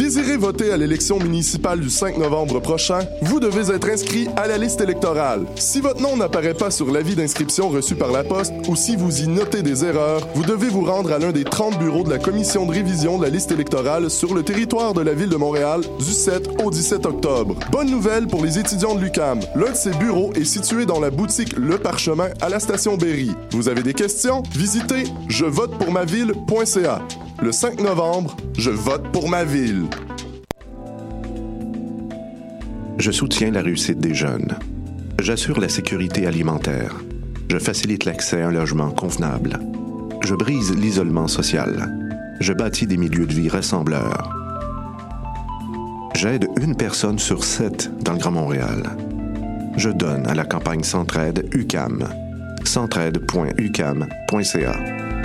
désirez voter à l'élection municipale du 5 novembre prochain, vous devez être inscrit à la liste électorale. Si votre nom n'apparaît pas sur l'avis d'inscription reçu par la poste ou si vous y notez des erreurs, vous devez vous rendre à l'un des 30 bureaux de la commission de révision de la liste électorale sur le territoire de la ville de Montréal du 7 au 17 octobre. Bonne nouvelle pour les étudiants de l'UQAM. L'un de ces bureaux est situé dans la boutique Le Parchemin à la station Berry. Vous avez des questions? Visitez jevotepourmaville.ca. Le 5 novembre, je vote pour ma ville. Je soutiens la réussite des jeunes. J'assure la sécurité alimentaire. Je facilite l'accès à un logement convenable. Je brise l'isolement social. Je bâtis des milieux de vie rassembleurs. J'aide 1 personne sur 7 dans le Grand Montréal. Je donne à la campagne Centraide UQAM. centraide.uqam.ca.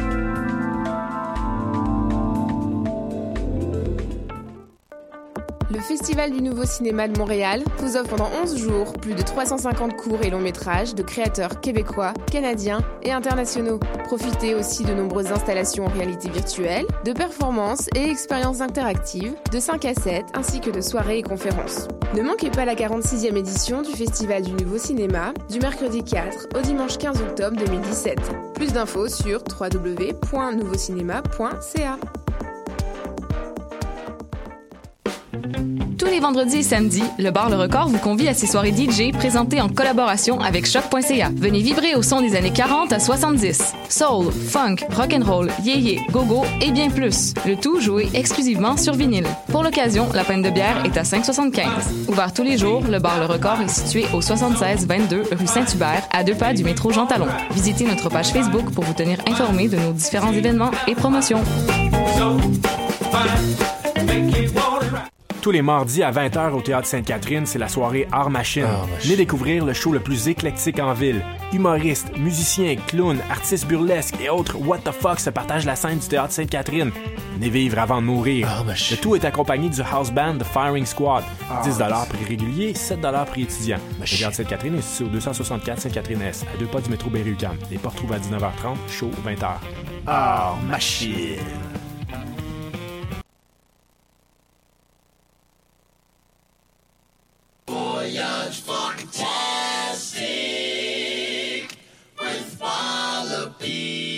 Le Festival du Nouveau Cinéma de Montréal vous offre pendant 11 jours plus de 350 courts et longs métrages de créateurs québécois, canadiens et internationaux. Profitez aussi de nombreuses installations en réalité virtuelle, de performances et expériences interactives, de 5 à 7 ainsi que de soirées et conférences. Ne manquez pas la 46e édition du Festival du Nouveau Cinéma du mercredi 4 au dimanche 15 octobre 2017. Plus d'infos sur www.nouveaucinéma.ca. Tous les vendredis et samedis, le bar Le Record vous convie à ses soirées DJ présentées en collaboration avec Choc.ca. Venez vibrer au son des années 40 à 70. Soul, funk, rock'n'roll, yéyé, go-go et bien plus. Le tout joué exclusivement sur vinyle. Pour l'occasion, la pinte de bière est à 5,75. Ouvert tous les jours, le bar Le Record est situé au 76-22 rue Saint-Hubert, à 2 pas du métro Jean Talon. Visitez notre page Facebook pour vous tenir informé de nos différents événements et promotions. Tous les mardis à 20h au Théâtre Sainte-Catherine, c'est la soirée Art Machine. Venez découvrir le show le plus éclectique en ville. Humoristes, musiciens, clowns, artistes burlesques et autres what the fuck se partagent la scène du Théâtre Sainte-Catherine. Venez vivre avant de mourir. Le tout est accompagné du house band The Firing Squad. 10$ prix régulier, 7$ prix étudiant. Le Théâtre Sainte-Catherine est situé au 264 Sainte-Catherine-Est, à 2 pas du métro Berry-UQAM. Les portes trouvent à 19h30, show 20h. Art Machine. Voyage fantastique with Wallopy.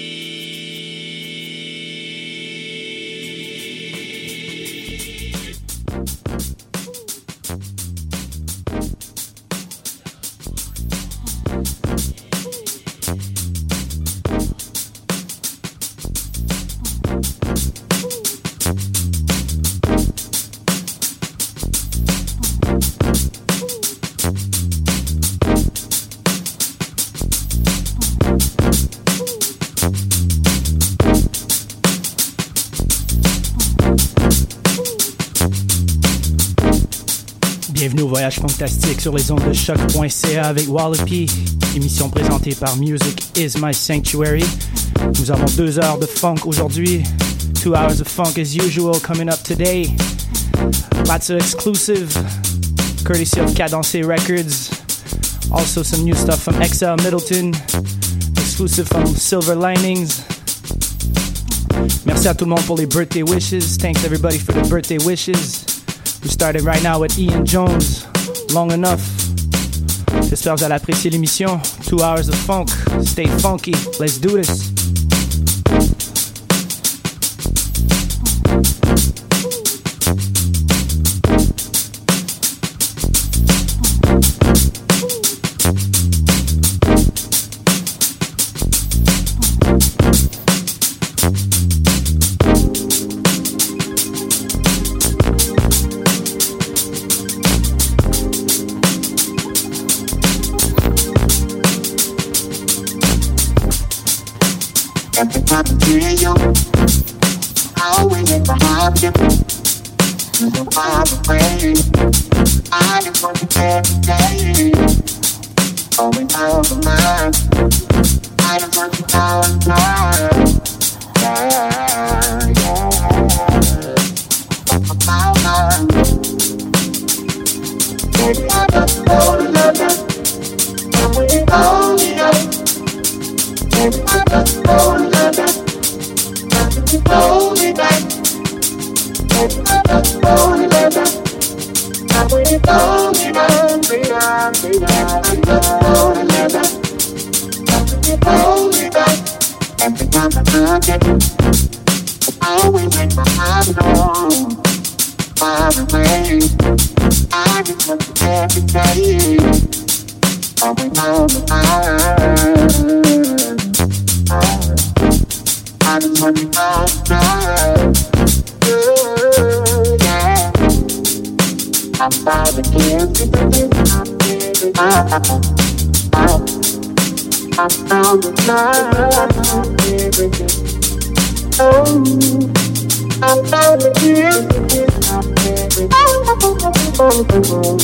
Bienvenue au Voyage Fantastique sur les ondes de Choc.ca avec Wallopy, émission présentée par Music is My Sanctuary. Nous avons 2 heures de funk aujourd'hui, 2 hours of funk as usual coming up today. Lots of exclusive, courtesy of Cadencé Records. Also some new stuff from XL Middleton, exclusive from Silver Linings. Merci à tout le monde pour les birthday wishes. Thanks everybody for the birthday wishes. We started right now with Ian Jones, Long Enough. J'espère que vous allez apprécier l'émission. 2 hours of funk. Stay funky. Let's do this. At the top of you, always in behind you. So I'm afraid I just want to get today. Going out of mind, I just want to go and die. Yeah, yeah. About mine. Baby, I just want to love you. And we only know. Baby, I just want to love you. And we only know. Baby, I just want pocket. Always in my mind, far away. I just want to every day. Always on the fire. I just want to know yeah. I'm about to give it. I'm found the love. Oh, I'm found the gift. I'm found the love.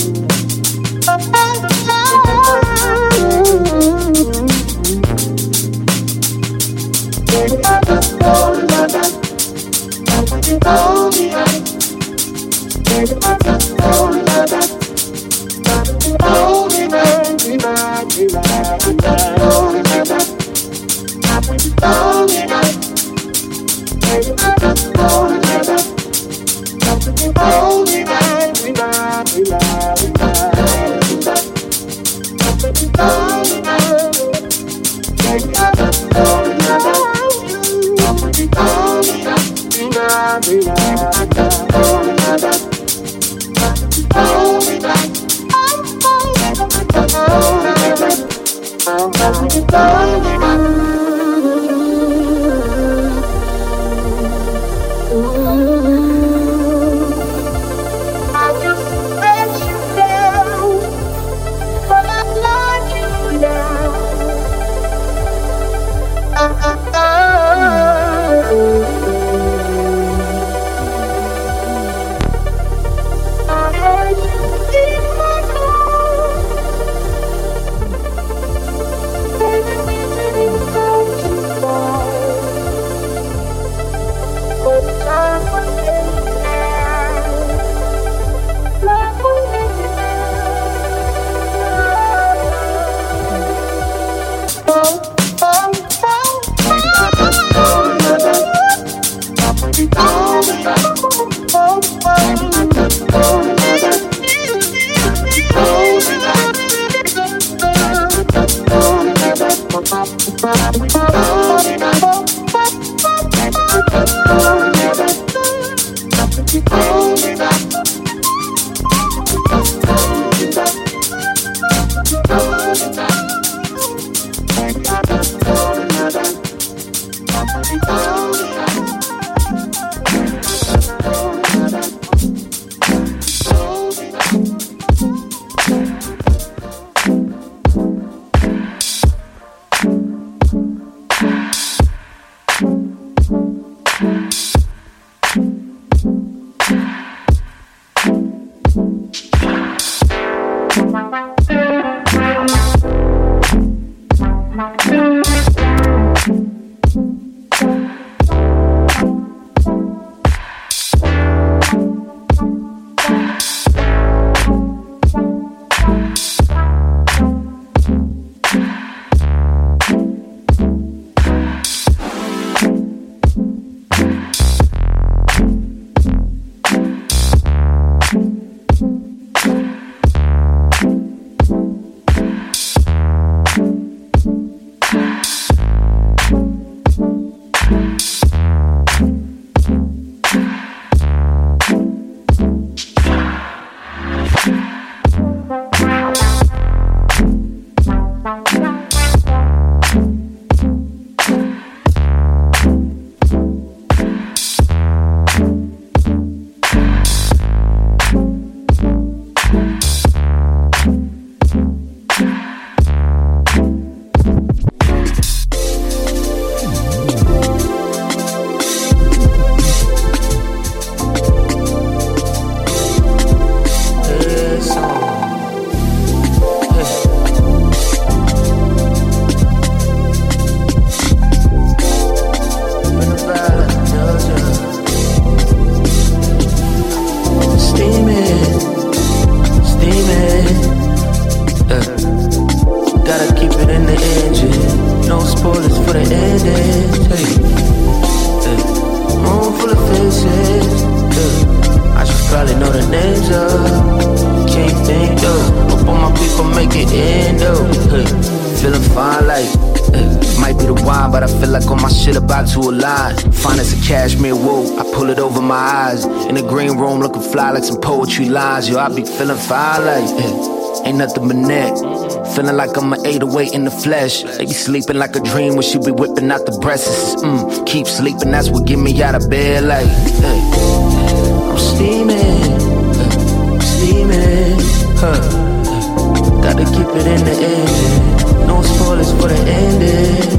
might be the wine, but I feel like all my shit about to align. Fine as a cashmere wool, I pull it over my eyes. In the green room, looking fly like some poetry lines. Yo, I be feeling fine like, ain't nothing but neck. Feeling like I'm an 808 in the flesh. They be sleeping like a dream when she be whipping out the breasts. Keep sleeping, that's what get me out of bed like, I'm steaming, steaming, gotta keep it in the engine. No spoilers for the ending.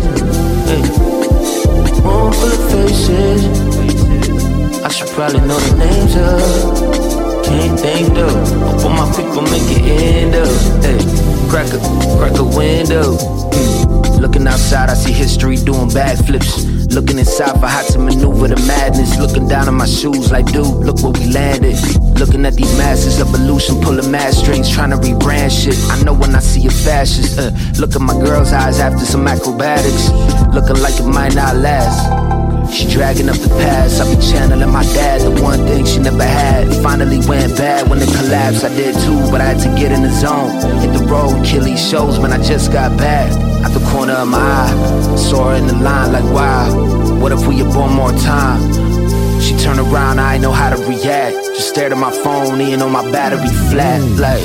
Room full of faces, I should probably know the names of. Can't think though, hope all my people make it end up. Crack a window. Looking outside, I see history doing backflips. Looking inside for how to maneuver the madness. Looking down at my shoes like, dude, look where we landed. Looking at these masters of illusion, pulling mad strings, trying to rebrand shit. I know when I see a fascist. Look at my girl's eyes after some acrobatics. Looking like it might not last. She dragging up the past. I be channeling my dad, the one thing she never had. It finally went bad when it collapsed. I did too, but I had to get in the zone. Hit the road, kill these shows, man, I just got back. Out the corner of my eye, saw her in the line like, wow, what if we had born more time? She turned around, I ain't know how to react. Just stared at my phone, even on my battery flat. Like,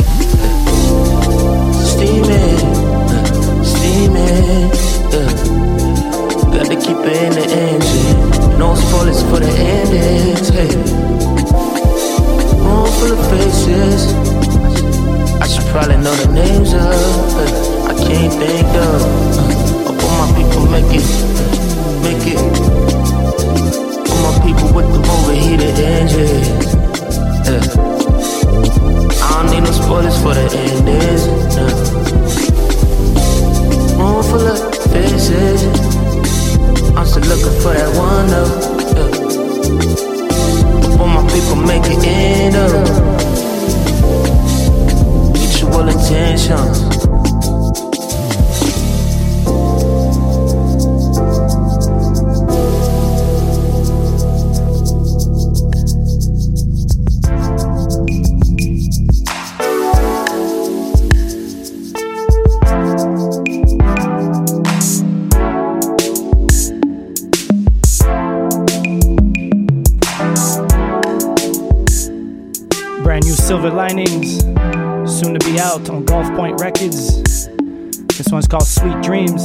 steaming, steaming, gotta keep it in the engine. No spoilers for the endings, hey. Room full of faces, I should probably know the names of. I can't think of. Up all my people make it. All my people with the overheated engines. I don't need no spoilers for the endings. Room full of faces, I'm still looking for that one though. All my people make it end up. Mutual intentions. Silver Linings, soon to be out on Golf Point Records. This one's called Sweet Dreams.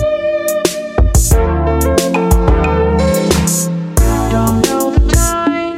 Don't know the time.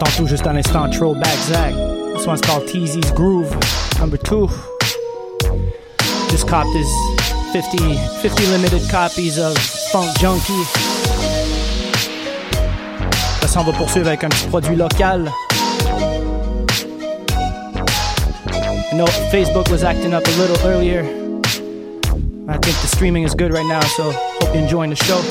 entend tout juste à l'instant, Throwback Zach. This one's called TZ's Groove, number 2. Just copped his 50 limited copies of Funk Junkie. Ça, on va poursuivre avec un petit produit local. I know Facebook was acting up a little earlier. I think the streaming is good right now, so hope you're enjoying the show.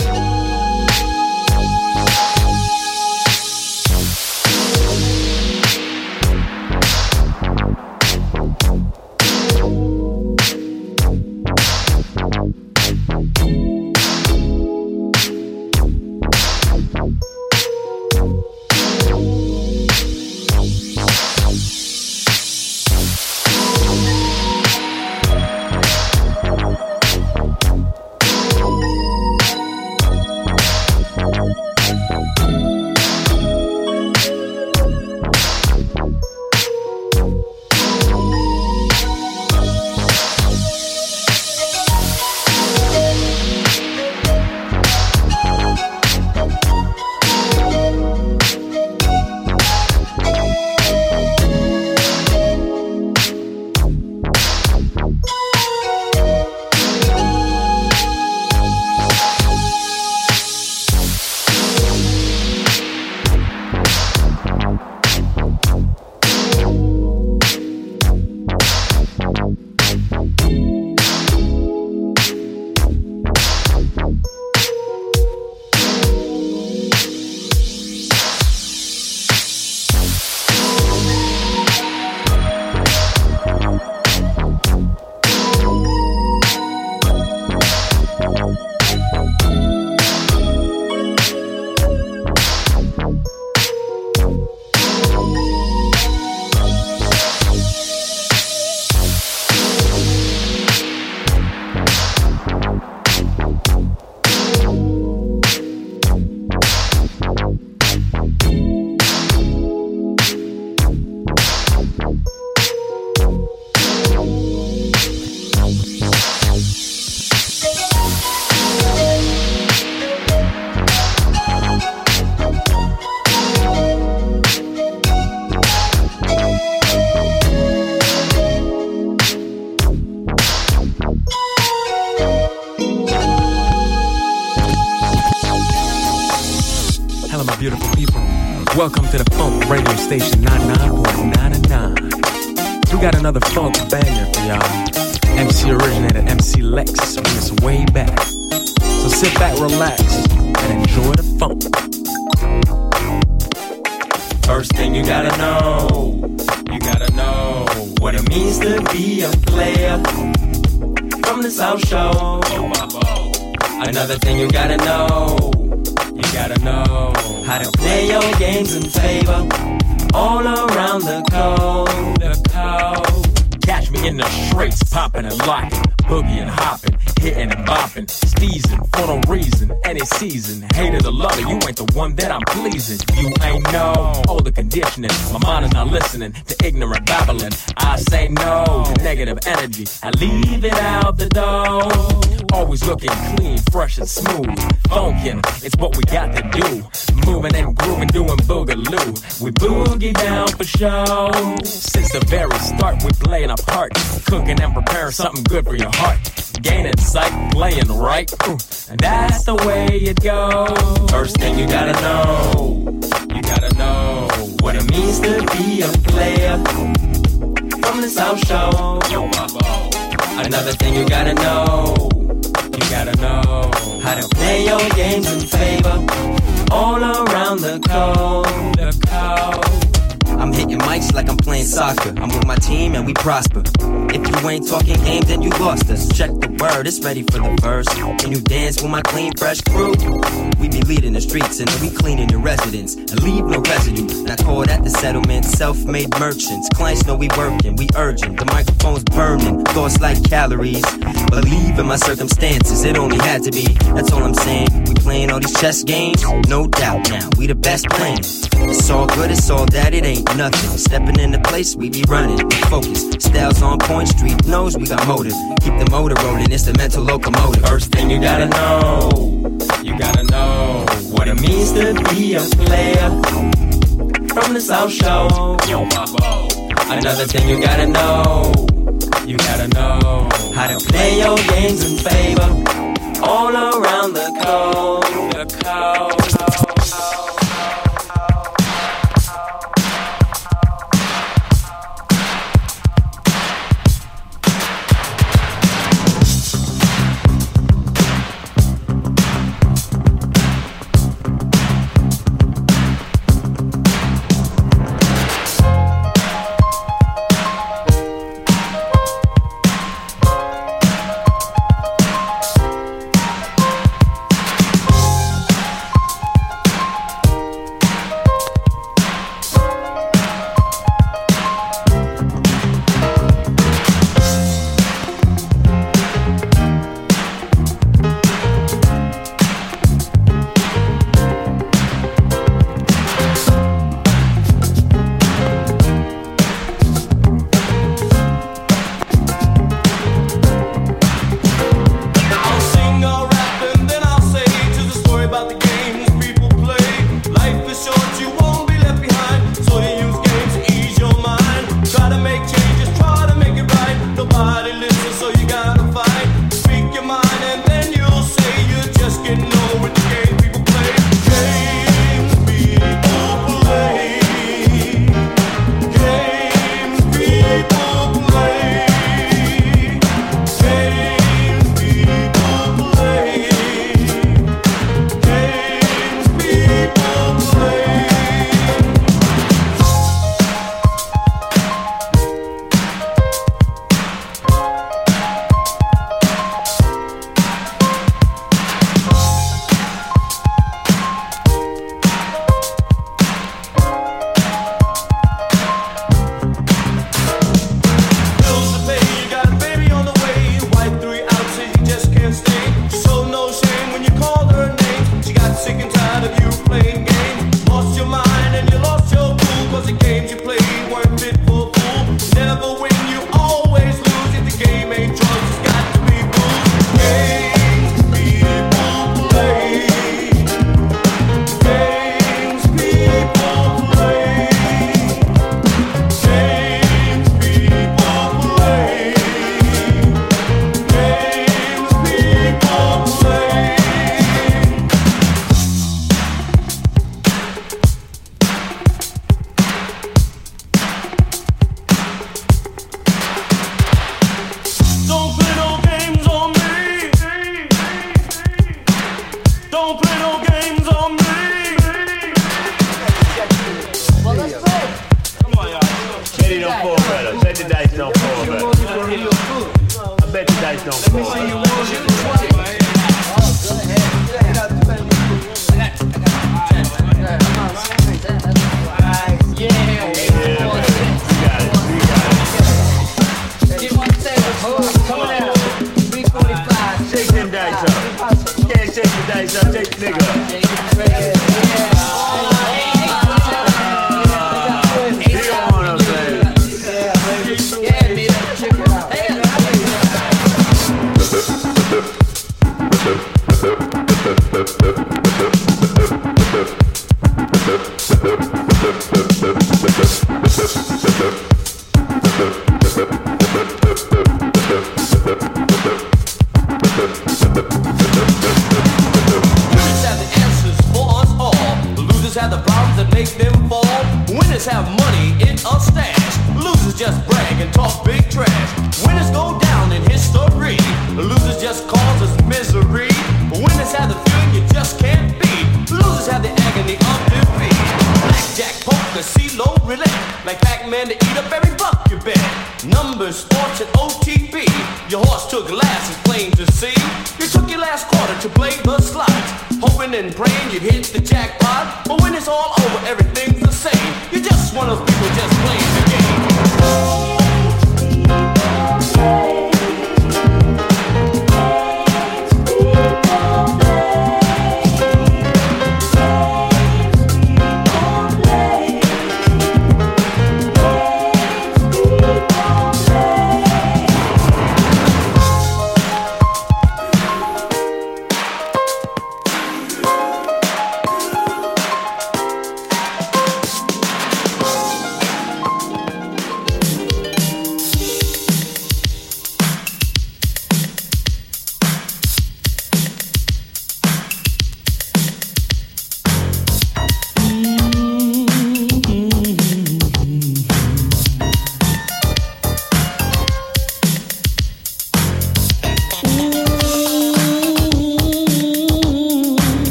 Welcome to the Funk Radio Station 99.99. We got another funk banger for y'all. MC originator, MC Lex, bring us way back. So sit back, relax, and enjoy the funk. First thing you gotta know what it means to be a player from the South Shore. Another thing you gotta know how to play your games in favor all around the coast. Catch me in the streets, popping and locking, boogie and hopping, hitting and bopping, steezing for no reason, any season. Hated or love it, you ain't the one that I'm pleasing. You ain't know all the conditioning. My mind is not listening to ignorant babbling. I say no to negative energy. I leave it out the door. Always looking clean, fresh and smooth. Funkin', it's what we got to do. Moving and grooving, doing boogaloo. We boogie down for show. Since the very start, we playing our part. Cooking and preparing something good for your heart. Gaining sight, playing right. And that's the way it goes. First thing you gotta know what it means to be a player from the South Shore. Another thing you gotta know how to play your games in favor all around the coast. I'm hitting mics like I'm playing soccer. I'm with my team and we prosper. If you ain't talking game, then you lost us. Check the word, it's ready for the verse. Can you dance with my clean, fresh crew? We be leading the streets and we cleaning your residence and leave no residue. And I call that the settlement. Self-made merchants, clients know we working, we urgent. The microphone's burning, thoughts like calories. Believe in my circumstances, it only had to be. That's all I'm saying. We playing all these chess games, no doubt. Now we the best playing. It's all good, it's all that, it ain't nothing. Stepping in the place, we be running. We focus, styles on point, street knows we got motive. Keep the motor rolling, it's the mental locomotive. First thing you gotta know what it means to be a player from the South Shore. Another thing you gotta know, you gotta know how to play your games in favor all around the coast.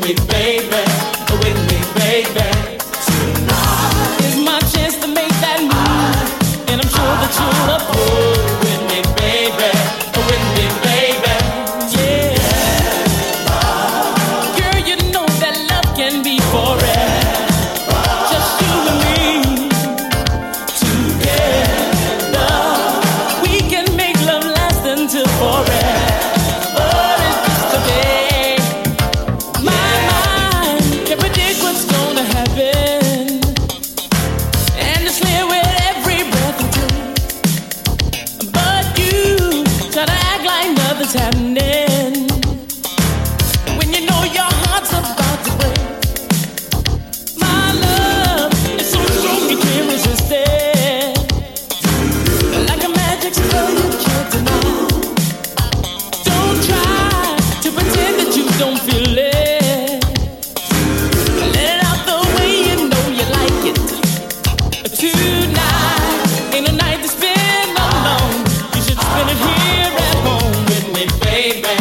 me, baby, with me, baby. Tonight is my chance to make that move, and I'm sure that you'll approve. With me, baby, with me, baby. Yeah. Girl, you know that love can be forever. Just you and me together. We can make love last until forever. What's happening when you know your heart's about to break? My love is so strong you can't resist it. Like a magic spell you can't deny. Don't try to pretend that you don't feel it. Let it out the way you know you like it. Tonight ain't a night to spend alone. You should spend it here at home. Baby,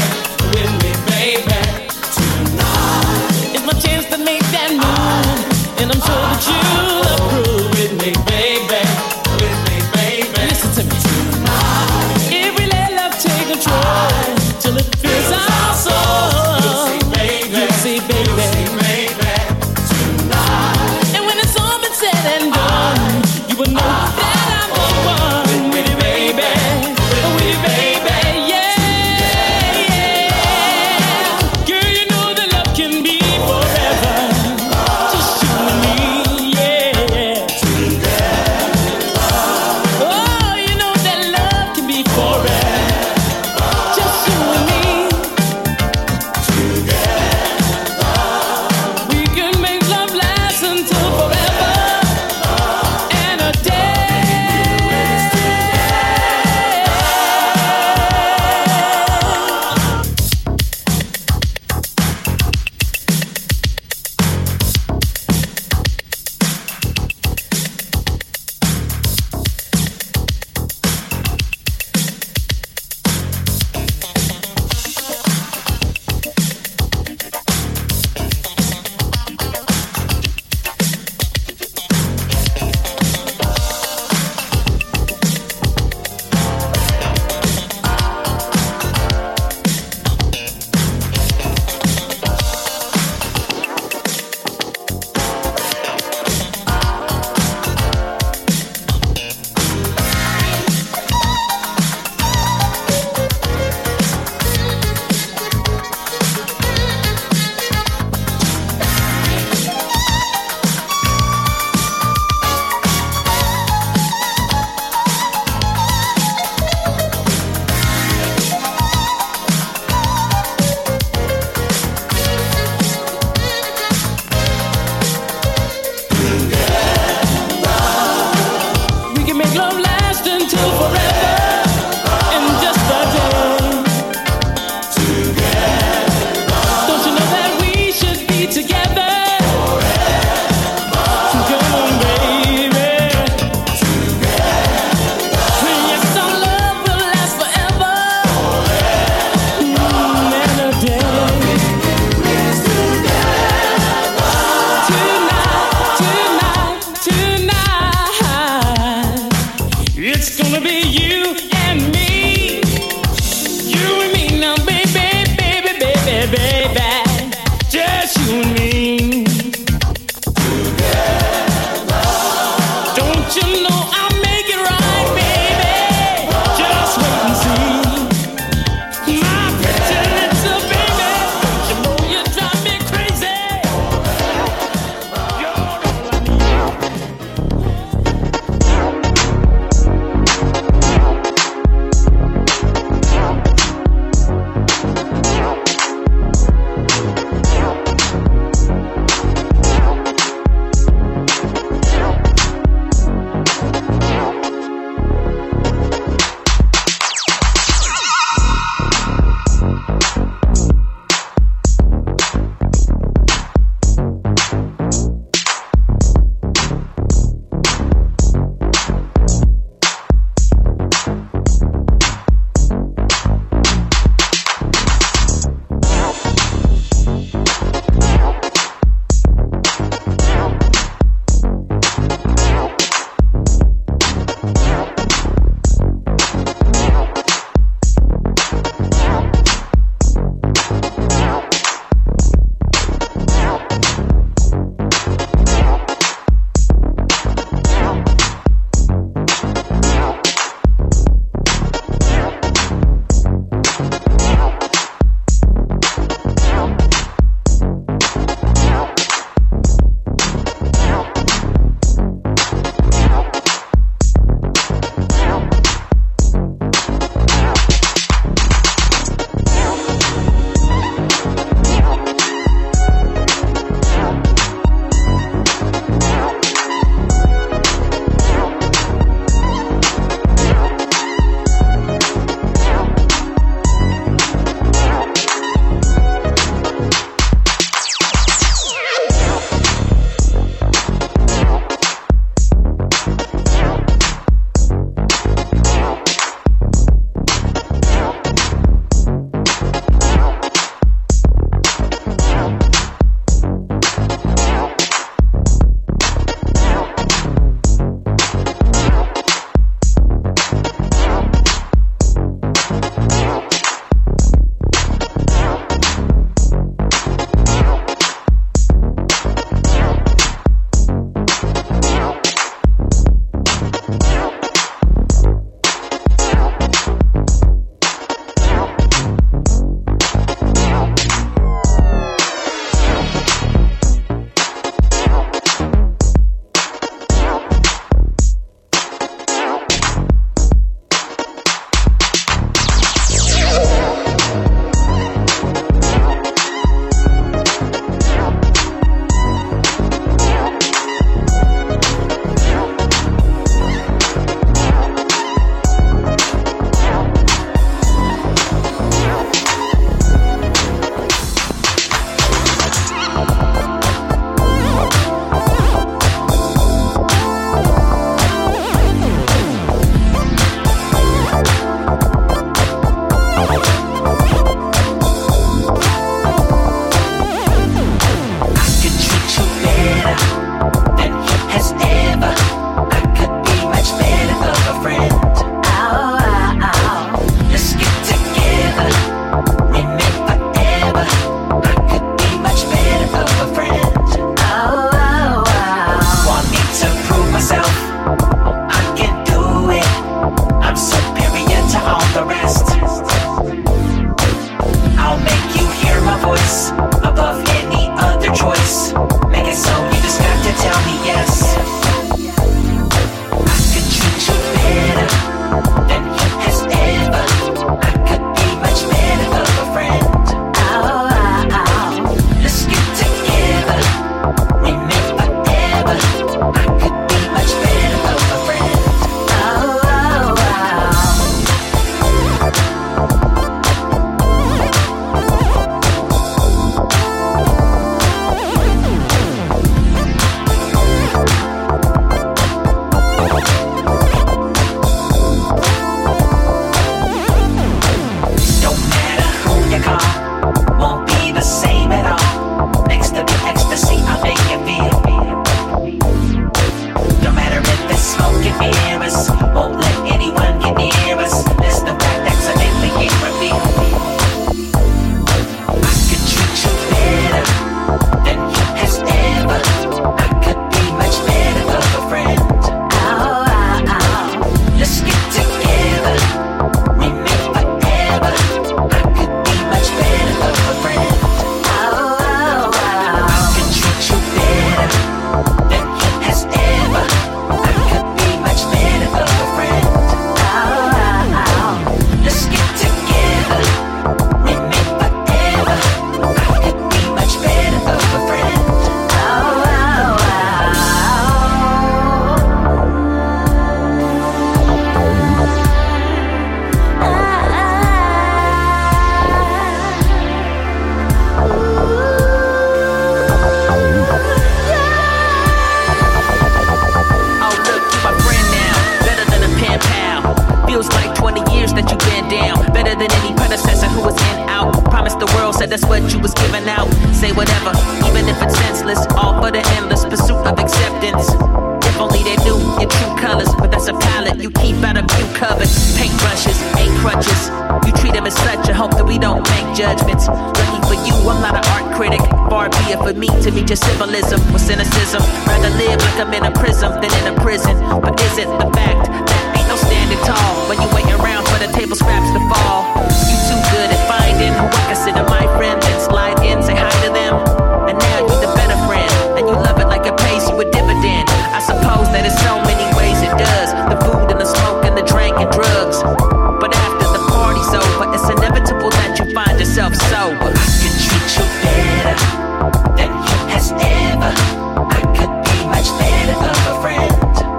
that's what you was giving out. Say whatever, even if it's senseless, all for the endless pursuit of acceptance. If only they knew your true colors, but that's a palette you keep out of view covered. Paintbrushes, ain't crutches. You treat them as such, I hope that we don't make judgments. Lucky for you, I'm not an art critic. Far be it for me to meet your symbolism with cynicism. Rather live like I'm in a prism than in a prison. But is it the fact that ain't no standing tall when you waiting around for the table scraps to fall? You too good at finding who I consider my friend, then slide in, say hi to them. And now you the better friend, and you love it like it pays you a dividend. I suppose that in so many ways it does. The food and the smoke and the drink and drugs. But after the party's over, it's inevitable that you find yourself sober. I could treat you better than you has ever. I could be much better of a friend.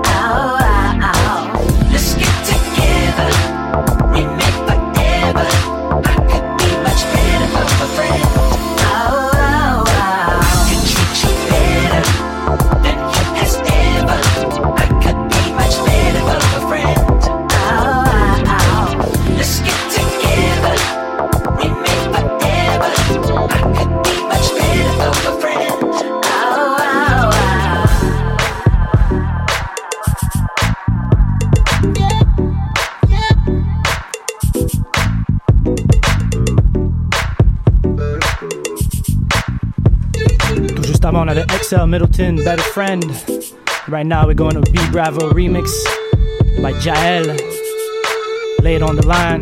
Let's get together. We make forever. I could be much better of a friend. I could treat you better than you has ever. I could be much better of a friend. Let's get together. We make forever. I could be much better of a friend. Tout juste avant, on avait XL Middleton, Better Friend. Right now, we're going to B Bravo remix by Jael. Lay it on the line.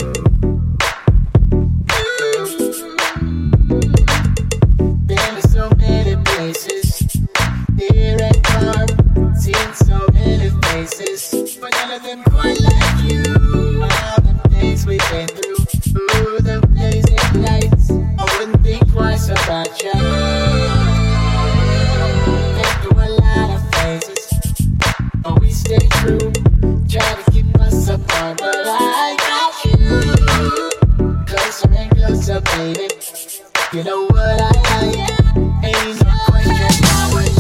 Been to so many places, near and far, seen so many faces, but none of them quite like you. All the things we've been through, ooh, the blazing lights, I wouldn't think twice about you. Been through a lot of phases, but we stay true, try to keep us apart, but I got you. Closer and closer, baby. You know what I like. Ain't no question I would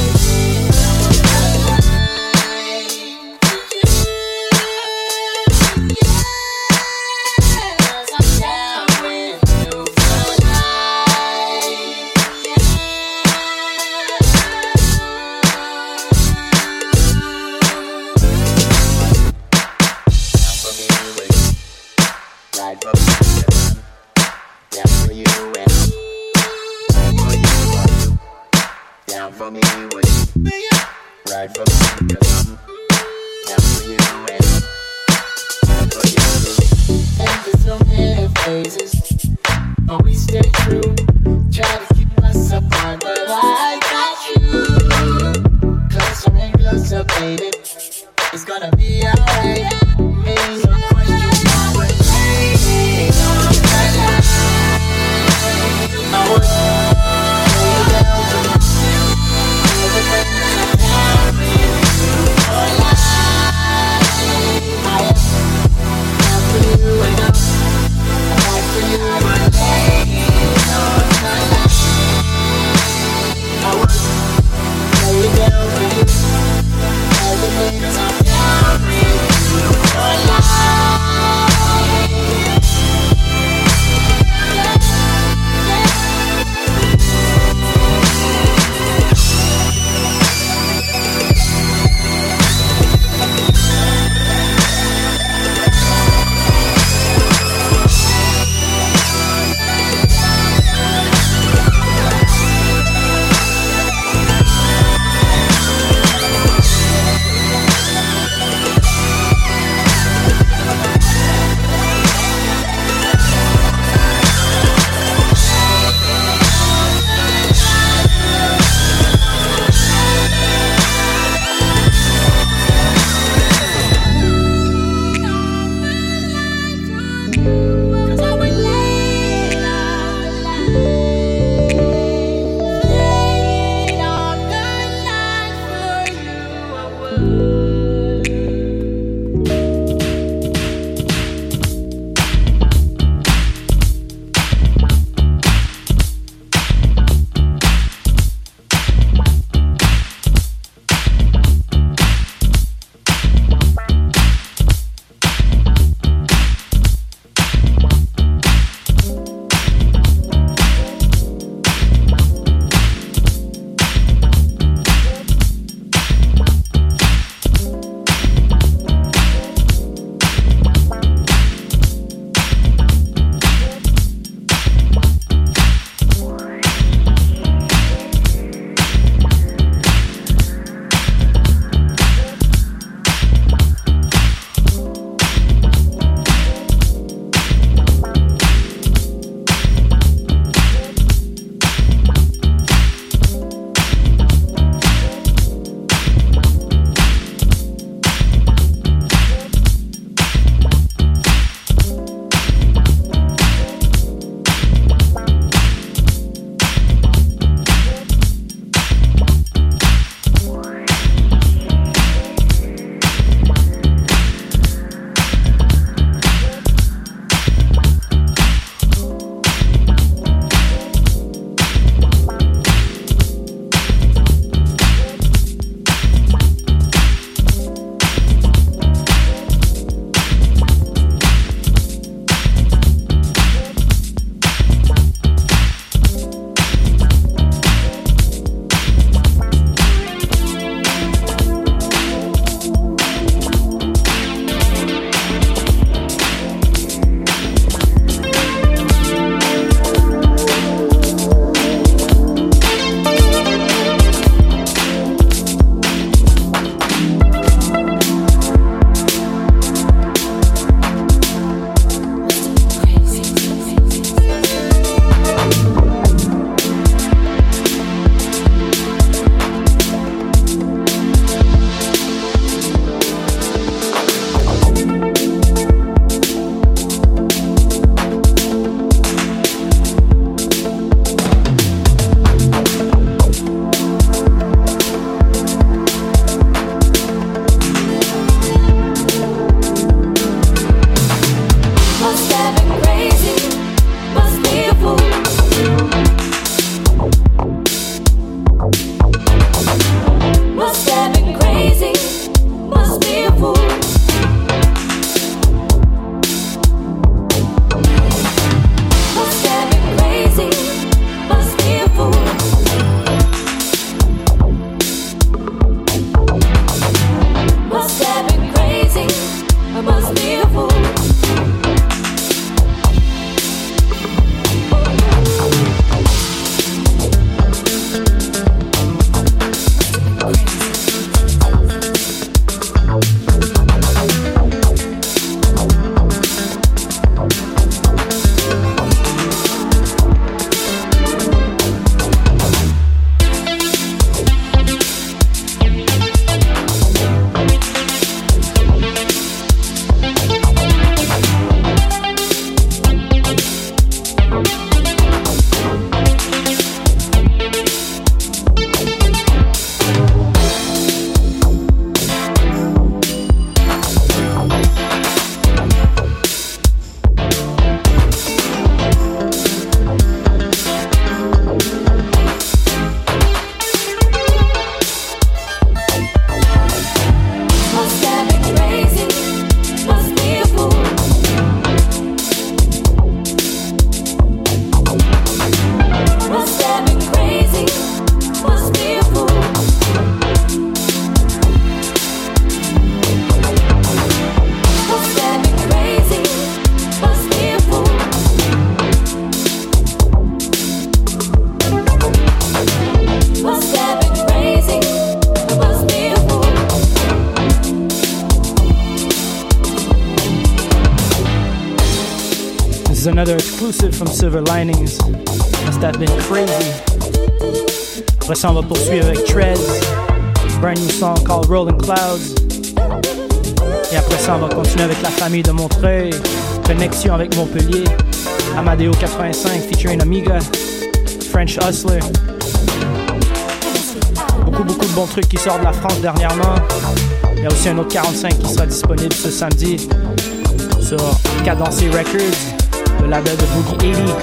for me, would you ride for me? 'Cause I'm down for you and for you. And there's so many phases, but we stay true. Try to keep us apart, but I got you. Closer and closer, baby. It's gonna be alright. Ain't no question I would say. I would lay down for you. Everything's on another exclusive from Silver Linings. Must have been crazy. Après ça, on va poursuivre avec Trez, brand new song called Rolling Clouds. Et après ça, on va continuer avec La Famille de Montreuil, Connexion avec Montpellier, Amadeo 85 featuring Amiga, French Hustler. Beaucoup de bons trucs qui sortent de la France dernièrement. Il y a aussi un autre 45 qui sera disponible ce samedi sur Cadencé Records, le label de Boogie 80.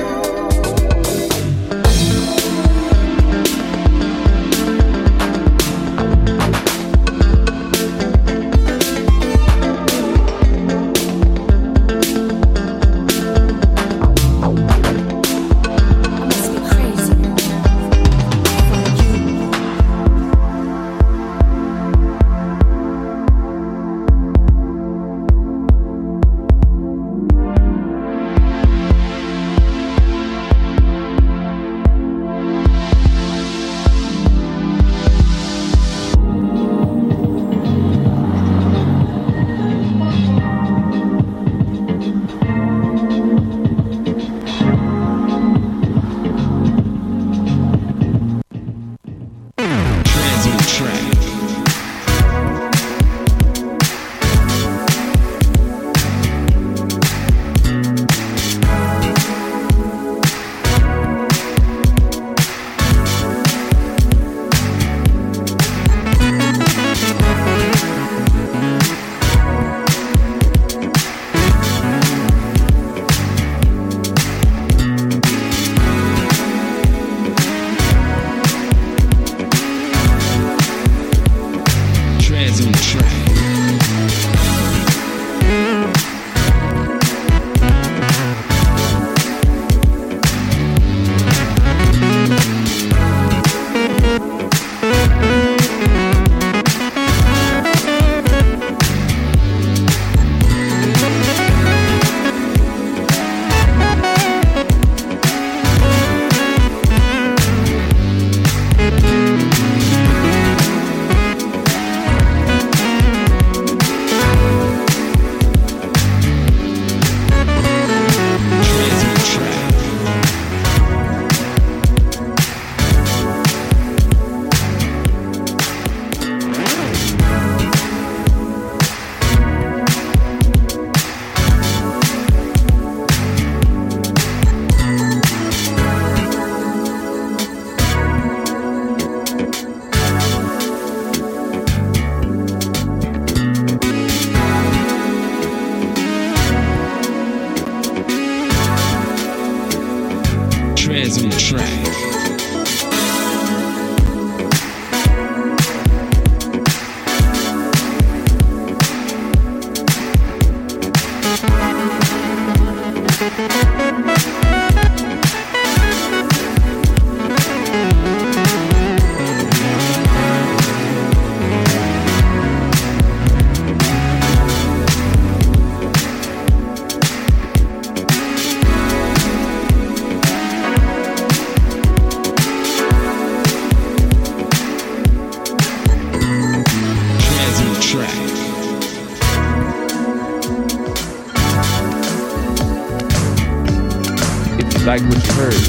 Like what you heard,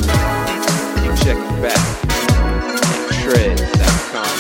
you check it back at Trez.com.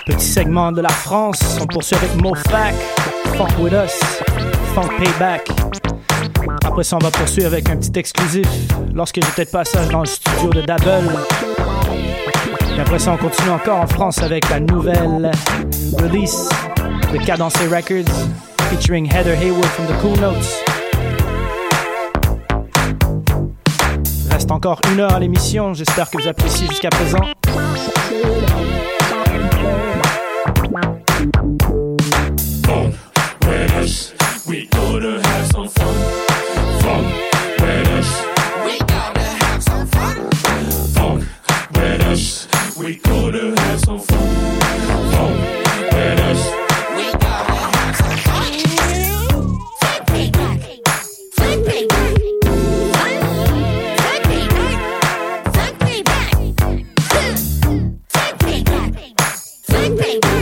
Petit segment de la France, on poursuit avec Mofac, Funk With Us, Funk Payback. Après ça, on va poursuivre avec un petit exclusif lorsque j'étais de passage dans le studio de Double. Et après ça, on continue encore en France avec la nouvelle release de Cadencé Records featuring Heather Haywood from the Cool Notes. Reste encore 1 heure à l'émission, j'espère que vous appréciez jusqu'à présent. Funk with us, we gonna have some fun. Funk with us, we gonna have some fun. Funk with us, we gonna have some fun. Funk with us, we gonna have some fun. Funk payback, funk payback, funk payback, funk payback, funk payback, funk payback.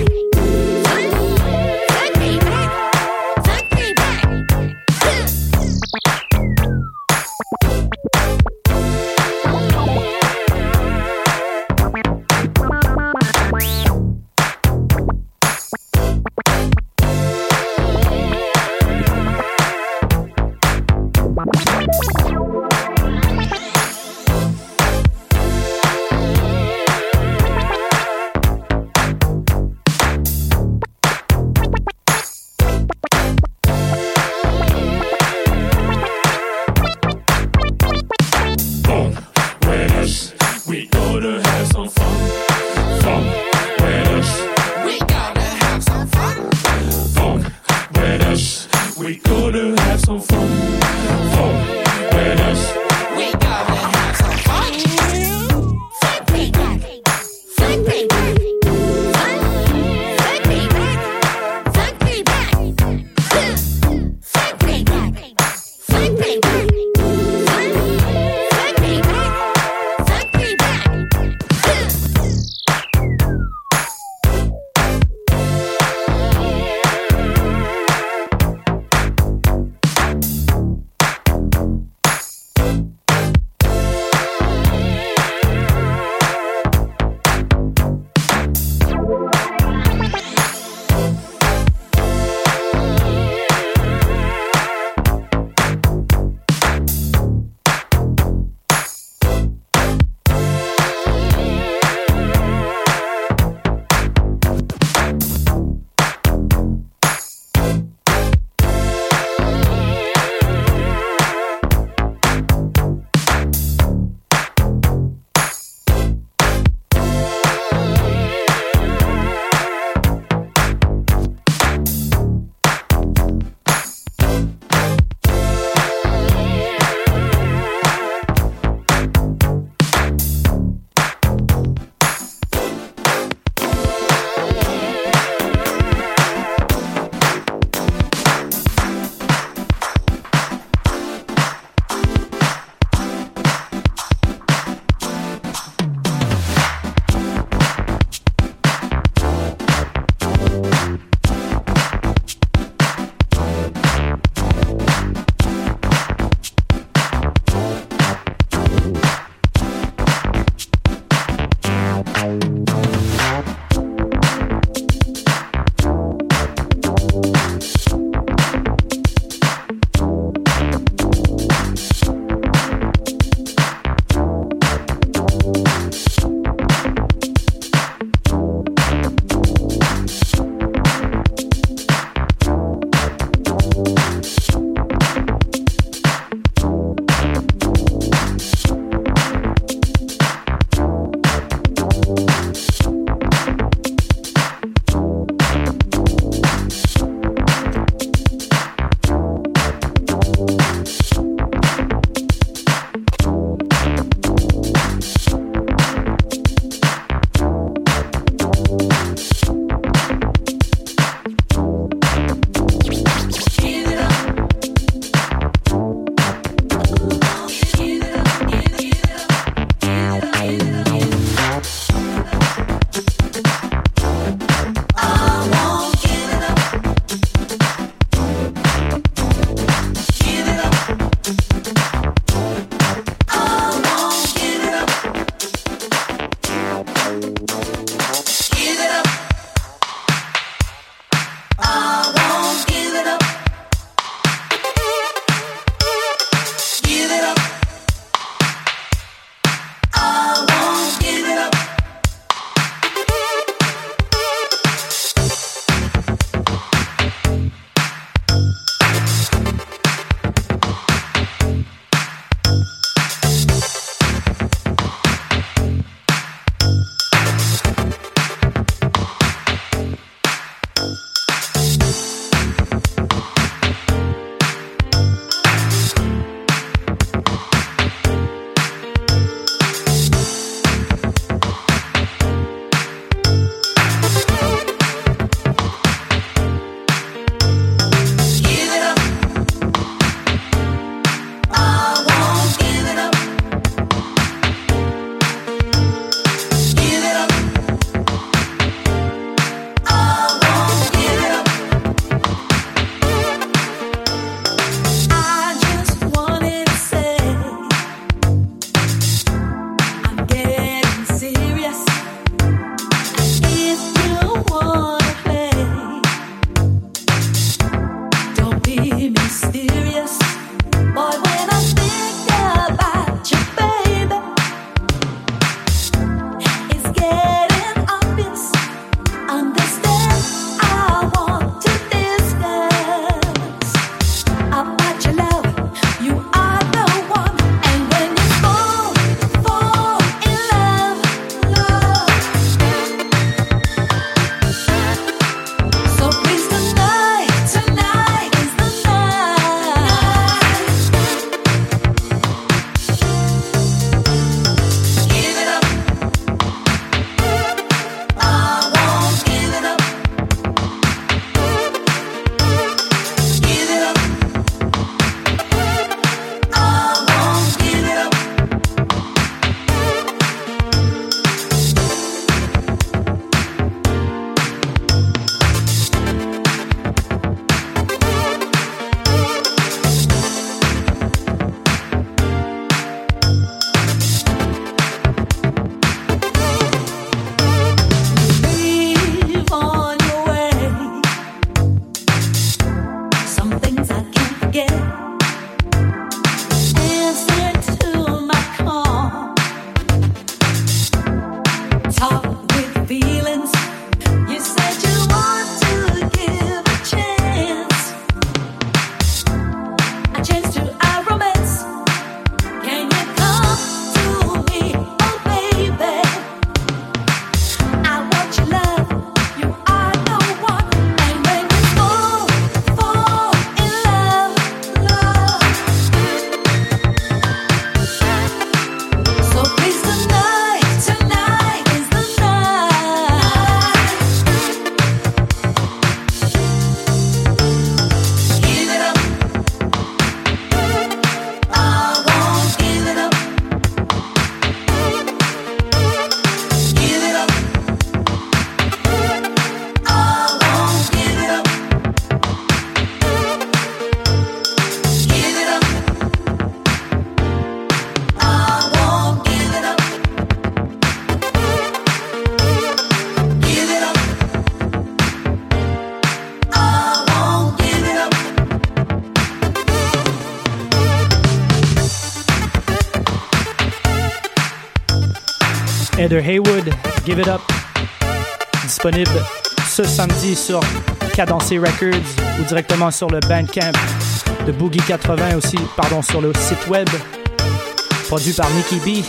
Heather Haywood, Give It Up, disponible ce samedi sur Cadencé Records ou directement sur le Bandcamp de Boogie 80 aussi, sur le site web, produit par Nicky B.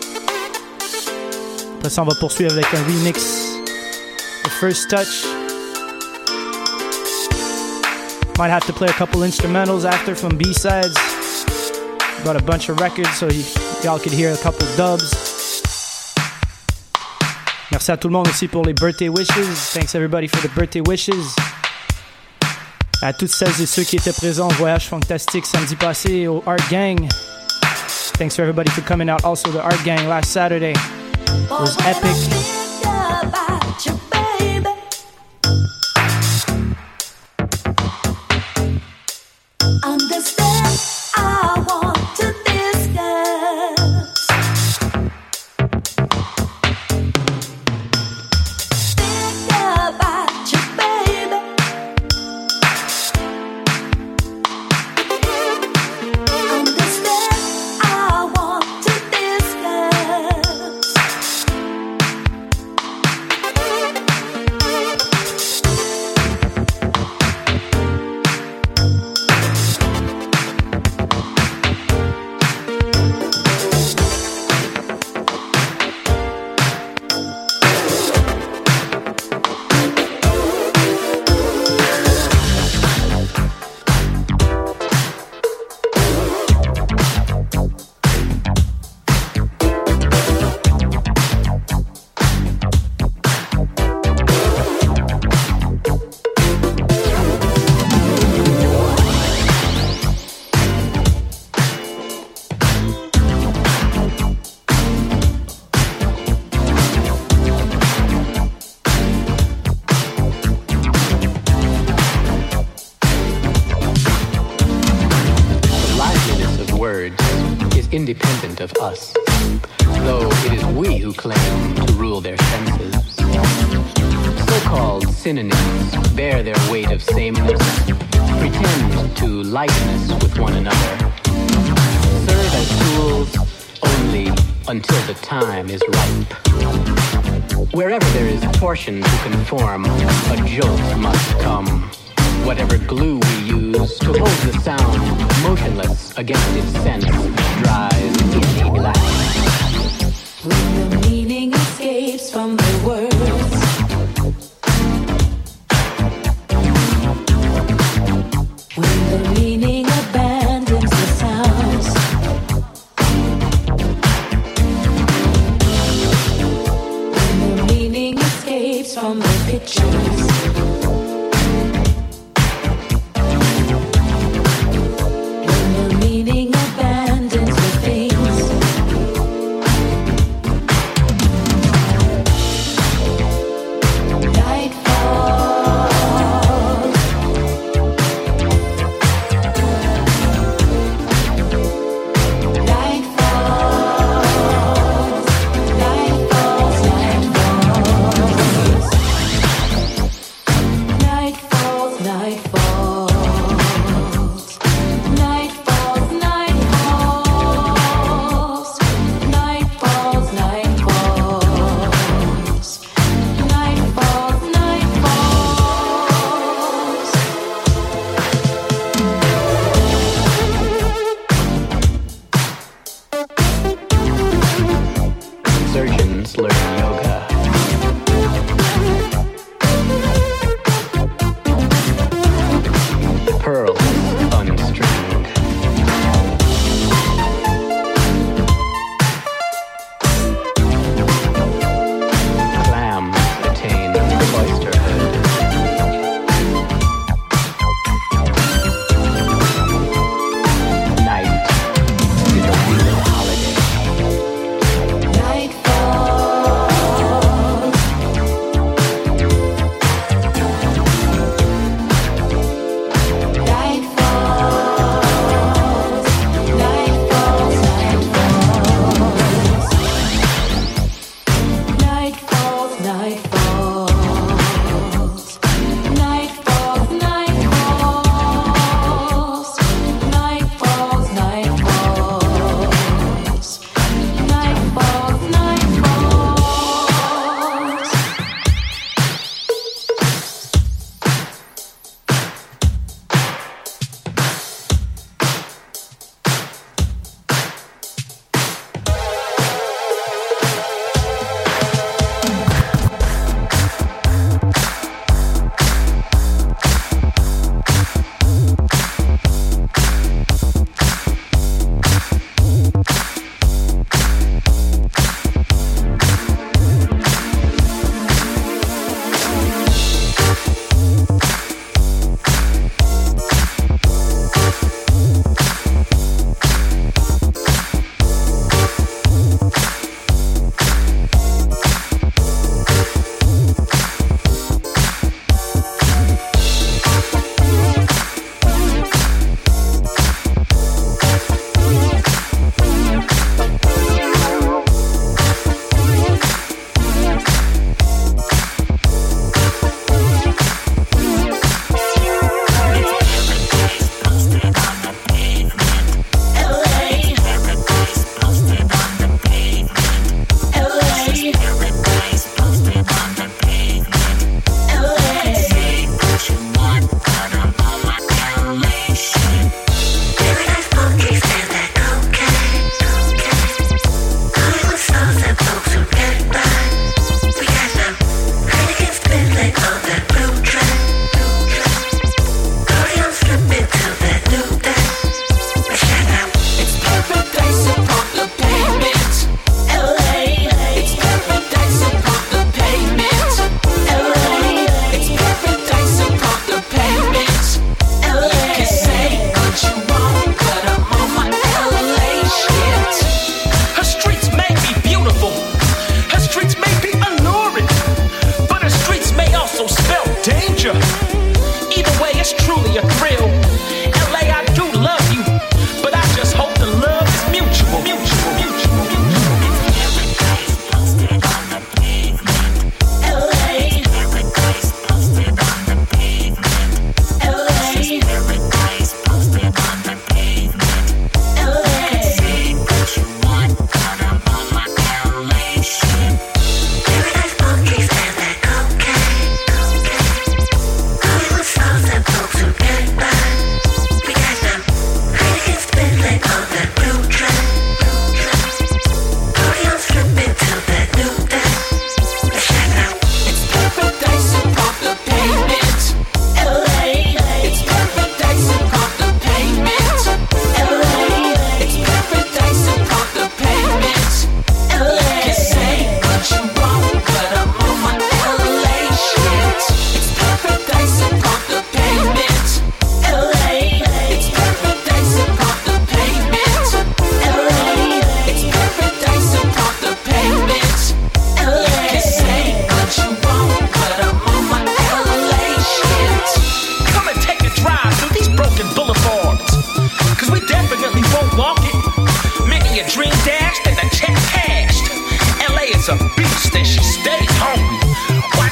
Après ça, on va poursuivre avec un remix de First Touch. Might have to play a couple instrumentals after from B-sides. Brought a bunch of records so y'all could hear a couple dubs. Merci à tout le monde aussi pour les birthday wishes. Thanks everybody for the birthday wishes. À toutes celles et ceux qui étaient présents au Voyage Fantastique samedi passé au Art Gang. Thanks for everybody for coming out also to Art Gang last Saturday. It was epic. Independent of us, though it is we who claim to rule their senses. So-called synonyms bear their weight of sameness, pretend to likeness with one another, serve as tools only until the time is ripe. Wherever there is torsion to conform, a jolt must come. Whatever glue we use to hold the sound motionless against its sense dries inky black. When the meaning escapes from the words, when the meaning abandons the sounds, when the meaning escapes from the pictures,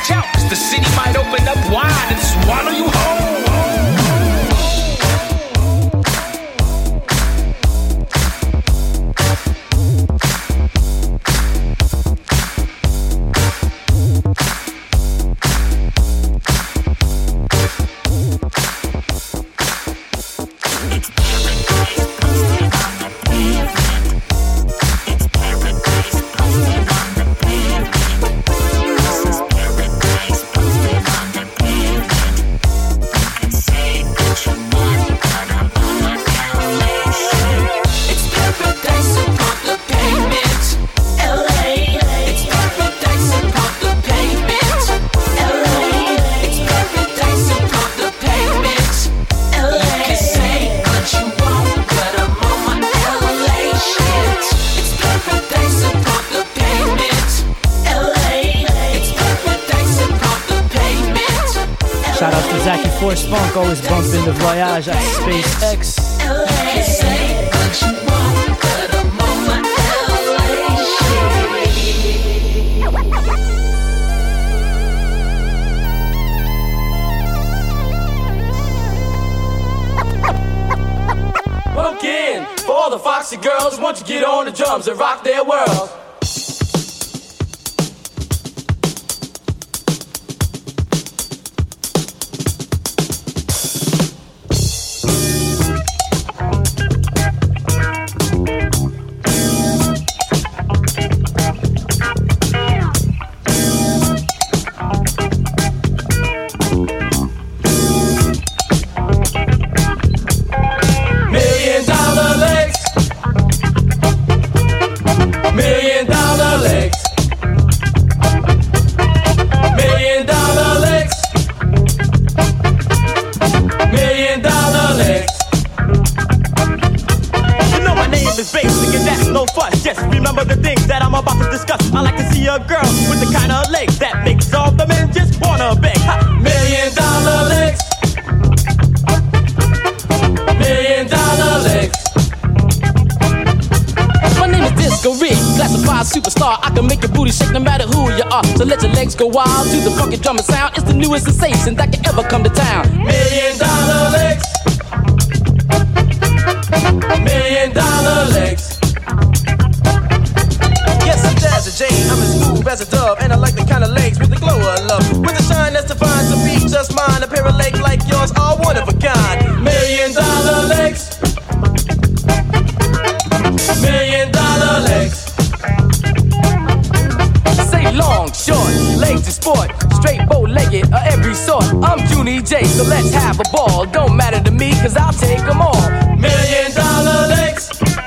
watch out, 'cause the city might open up wide and swallow you whole. Shout out to Zachy Force Funk, always bumping the Voyage at SpaceX. Again, for all the foxy girls, won't you get on the drums and rock their world? So let your legs go wild to the funky drumming sound. It's the newest sensation that can ever come to town. $1 million legs. $1 million legs. Yes, I'm Jazzy J. I'm as smooth as a dove, and I like the kind of legs with the glow of love, with the shine that's divine to be just mine. A pair of legs like yours are one of a kind. $1 million legs. $1 million legs. Long, short, legs to sport, straight bow-legged of every sort. I'm Junie J, so let's have a ball. Don't matter to me, 'cause I'll take them all. $1 million legs.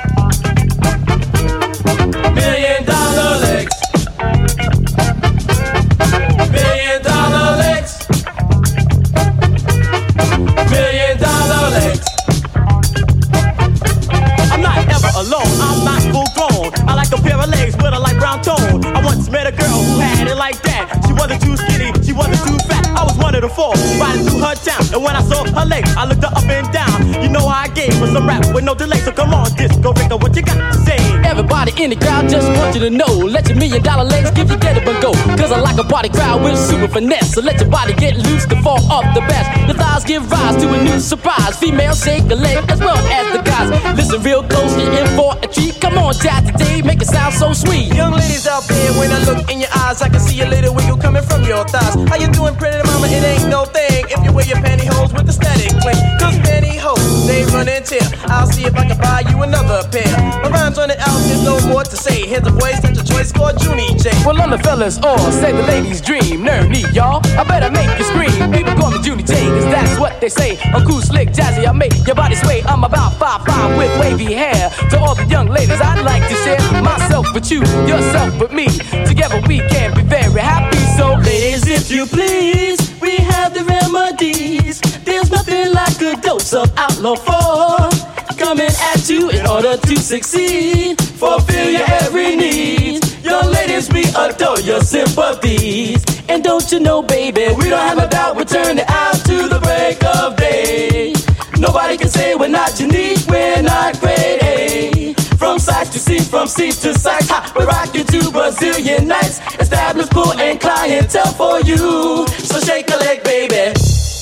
$1 million legs. $1 million legs. $1 million legs. I'm not ever alone, I'm not full grown. I like a pair of legs with a light brown tone. I once met a girl who had it like that. She wasn't too skinny, she wasn't too fat. I was one of the four, riding through her town. And when I saw her legs, I looked her up and down. You know how I gave her some rap with no delay. So come on, Disco Rico, what you got to say? Everybody in the crowd just want you to know. Let your $1 million legs give you get up and go. 'Cause I like a party crowd with super finesse. So let your body get loose to fall off the best. The thighs give rise to a new surprise. Females shake a leg as well as the guys. Listen real close, you're in for a treat. Come on, Jazzy J, make it sound so sweet. Young ladies out there, when I look in your eyes, I can see a little wiggle coming from your thighs. How you doing, pretty mama? It ain't no thing if you wear your pantyhose with the static cling. 'Cause pantyhose, they run and tear. I'll see if I can buy you another pair. My rhymes on it out, there's no more to say. Here's a voice, that's a choice called Junie J. Well, I'm the fellas, or say the ladies' dream. Nerve me, y'all, I better make you scream. People call me Junie J, 'cause that's what they say. I'm cool, slick, jazzy, I make your body sway. I'm about 5'5" with wavy hair. To all the young ladies, I'd like to share myself with you, yourself with me. Together we can be very happy. So ladies, if you please, we have the remedies. There's nothing like a dose of Outlaw 4 coming at you in order to succeed. Fulfill your every need. Young ladies, we adore your sympathies. And don't you know, baby, we don't have a doubt. We'll turn it out to the break of day. Nobody can say we're not unique, we're not grade A. From sight to see, from from seats to sights. We're rocking to Brazilian nights. Established pool and clientele for you. So shake a leg, baby.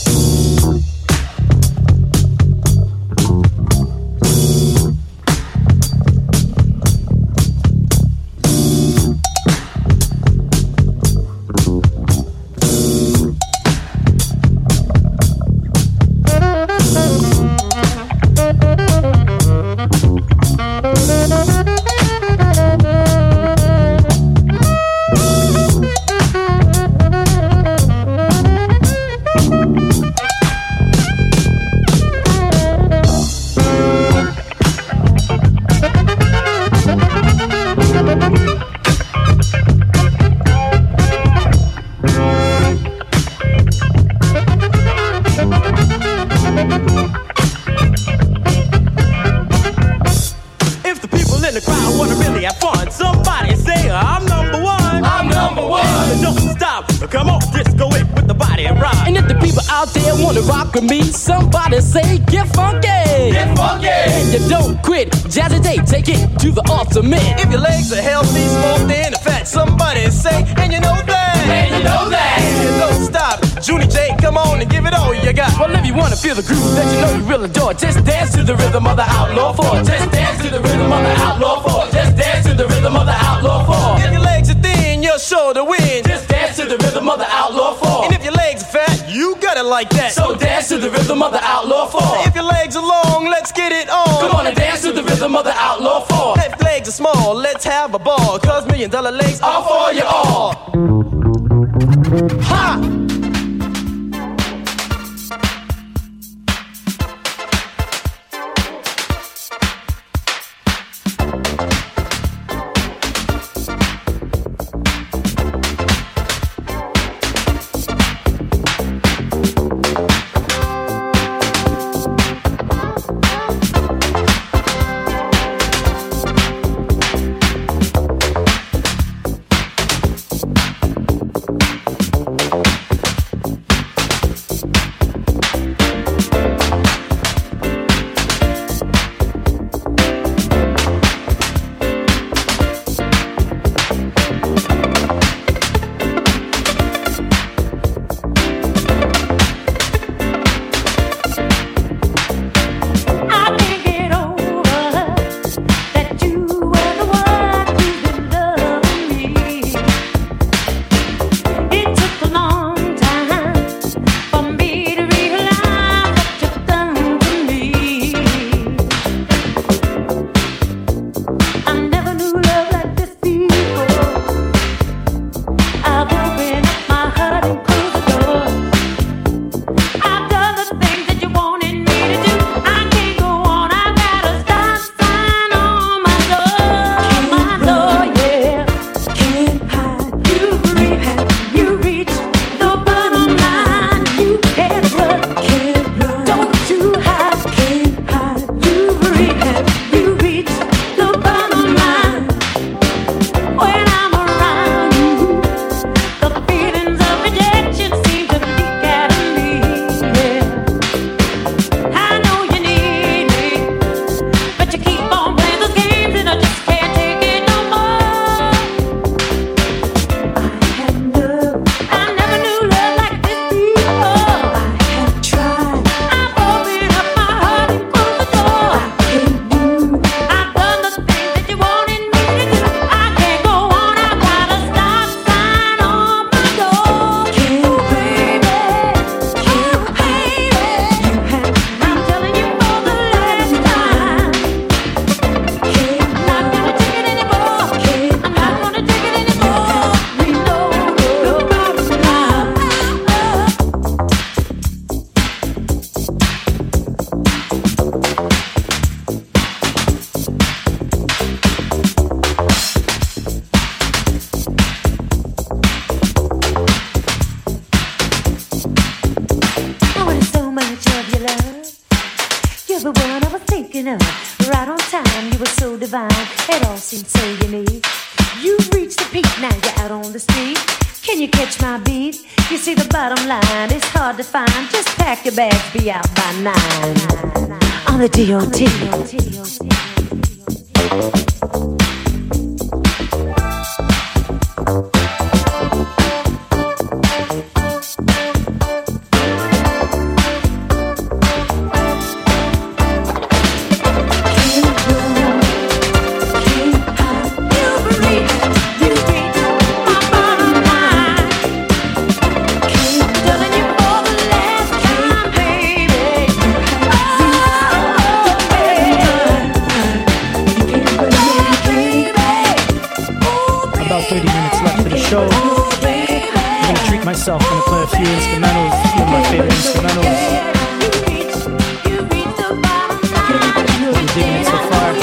Somebody say, get funky. Get funky. And you don't quit. Jazzy take it to the ultimate. If your legs are healthy, smoked in, fat, somebody say, and you know that. And you know that. And you don't stop. Junie J, come on and give it all you got. Well, if you wanna feel the groove that you know you really adore, just dance to the rhythm of the Outlaw 4. Just dance to the rhythm of the Outlaw 4. Just dance to the rhythm of the Outlaw 4. If your legs are thin, you're sure to win. Just dance to the rhythm of the Outlaw 4. And if your legs are fat, you got it like that. So dance to the rhythm of the Outlaw 4. If your legs are long, let's get it on. Come on and dance to the rhythm of the Outlaw 4. If legs are small, let's have a ball. Cause $1 million legs are for you all. Ha! the one I was thinking of. Right on time, you were so divine. It all seemed so unique. You reached the peak, now you're out on the street. Can you catch my beat? You see the bottom line, it's hard to find. Just pack your bags, be out by 9. On the DOT. myself gonna play a few instrumentals, a few of my favorite instrumentals. Hope you're digging it so far.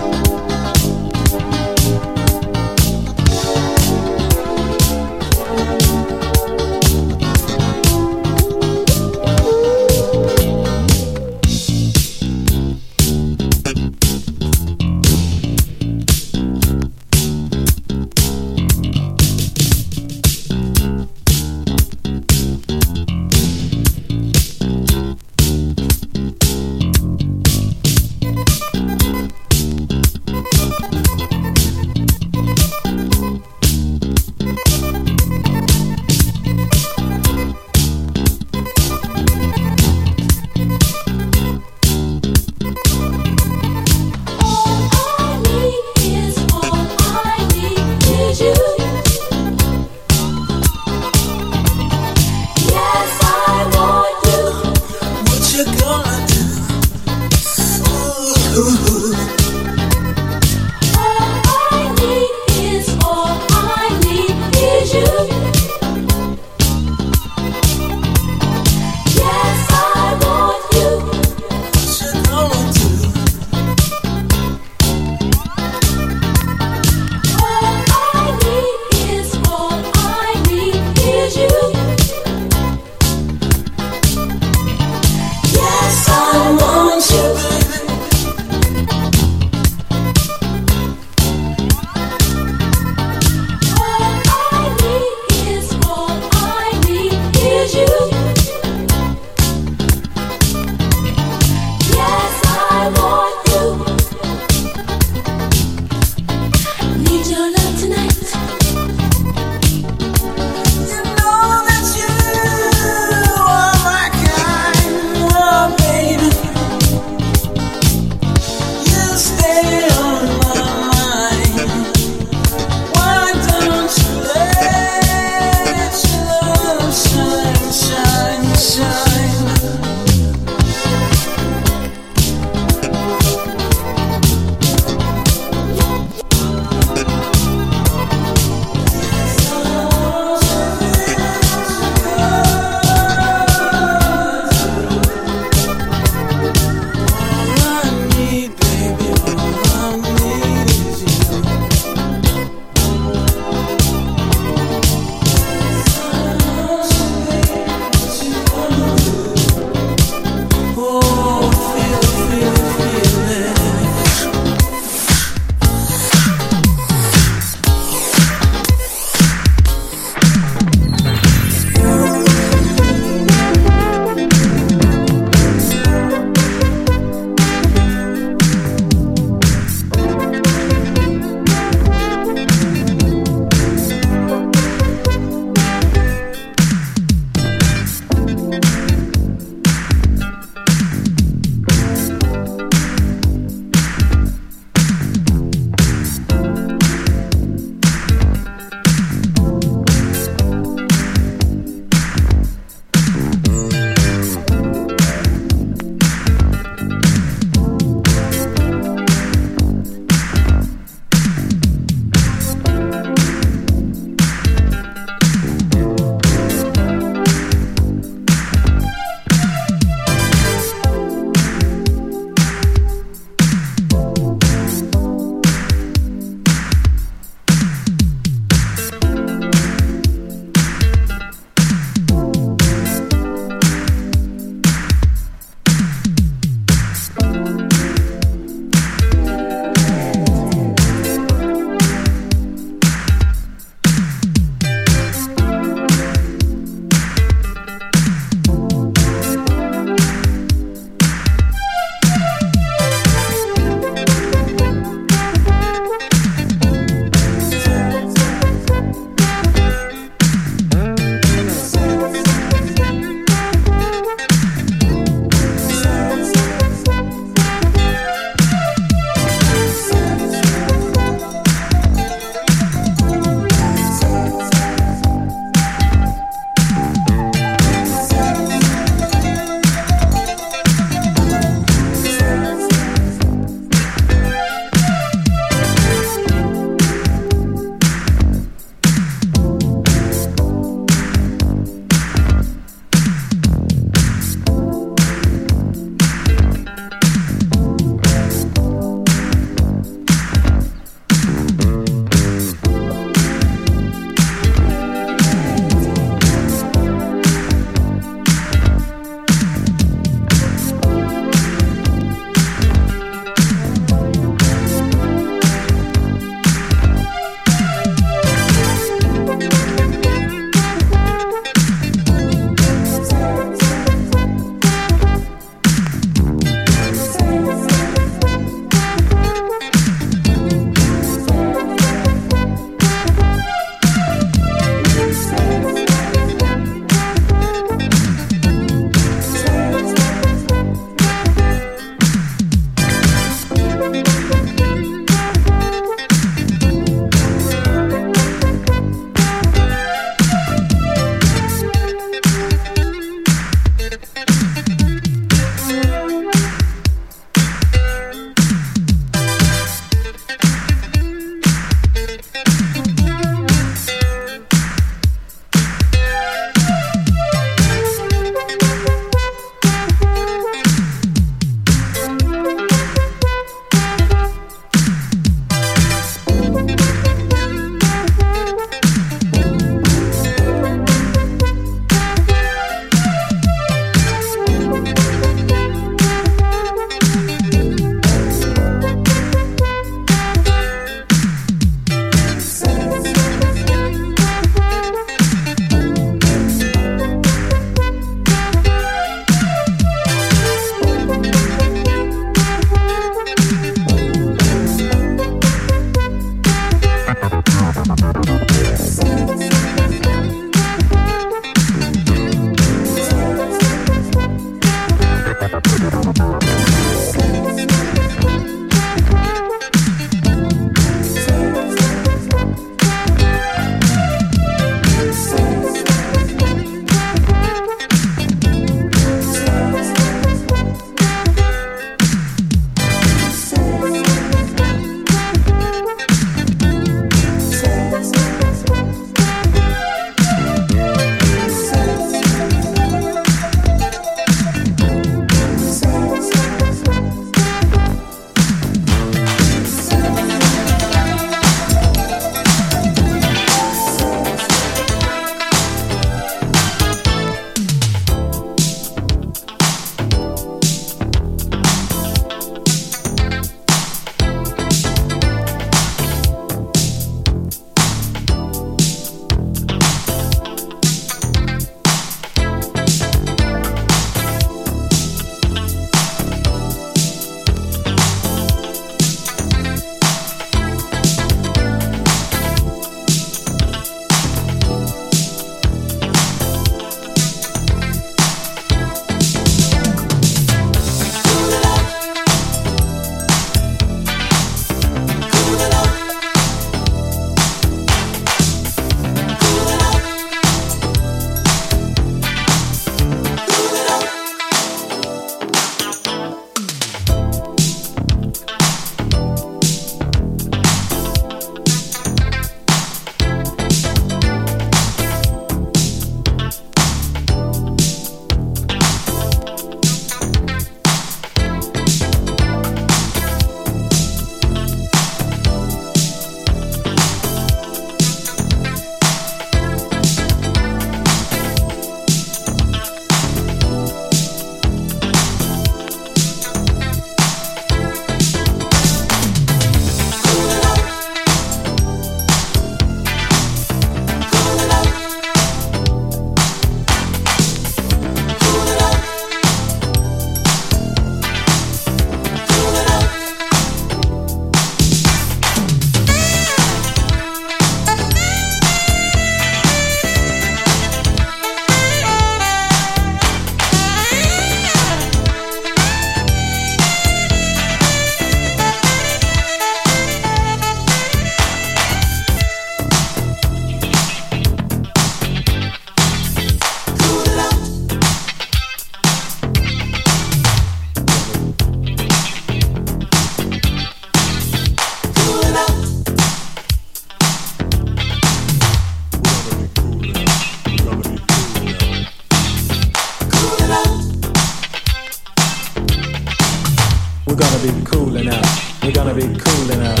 We're gonna be coolin' out. We're gonna be coolin' out.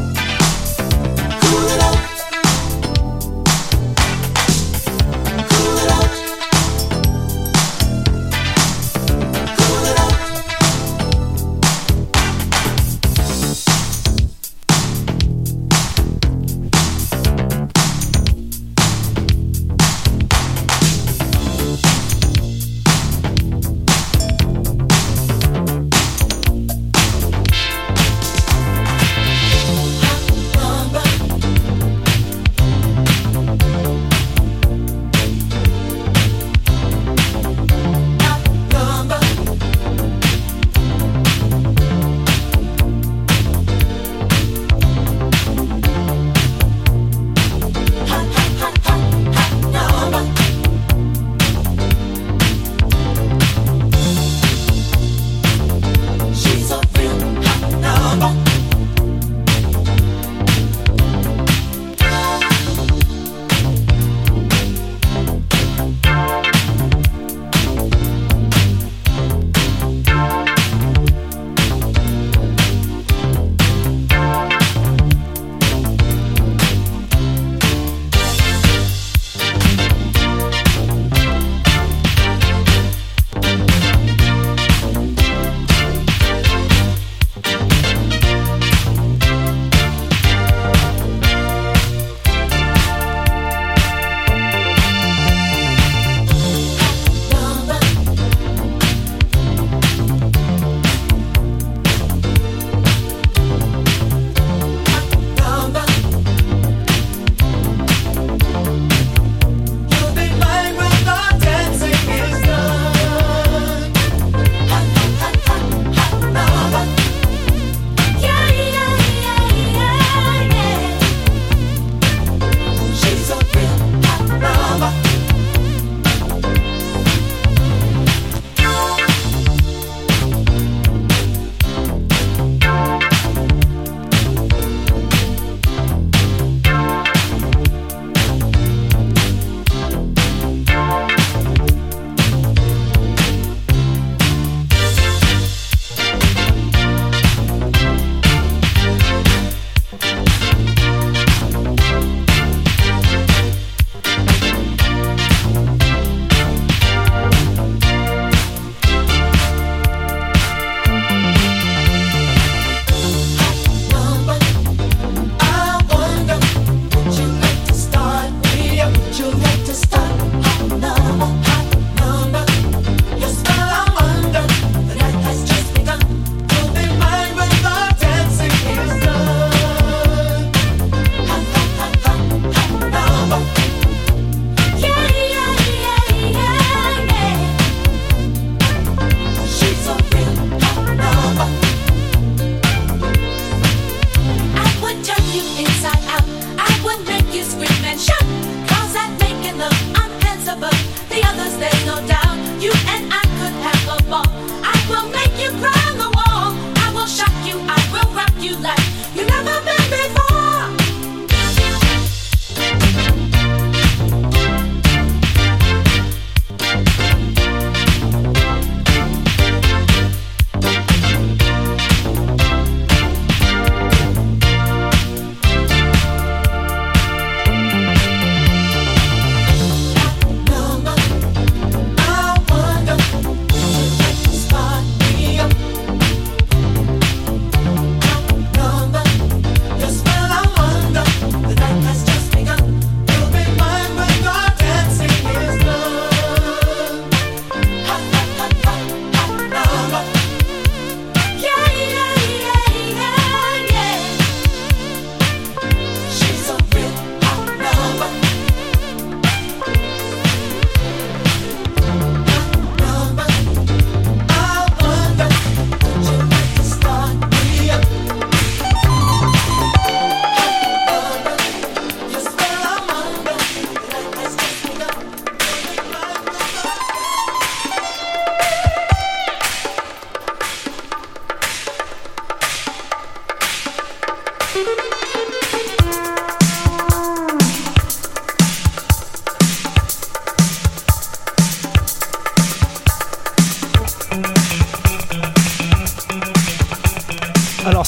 Cool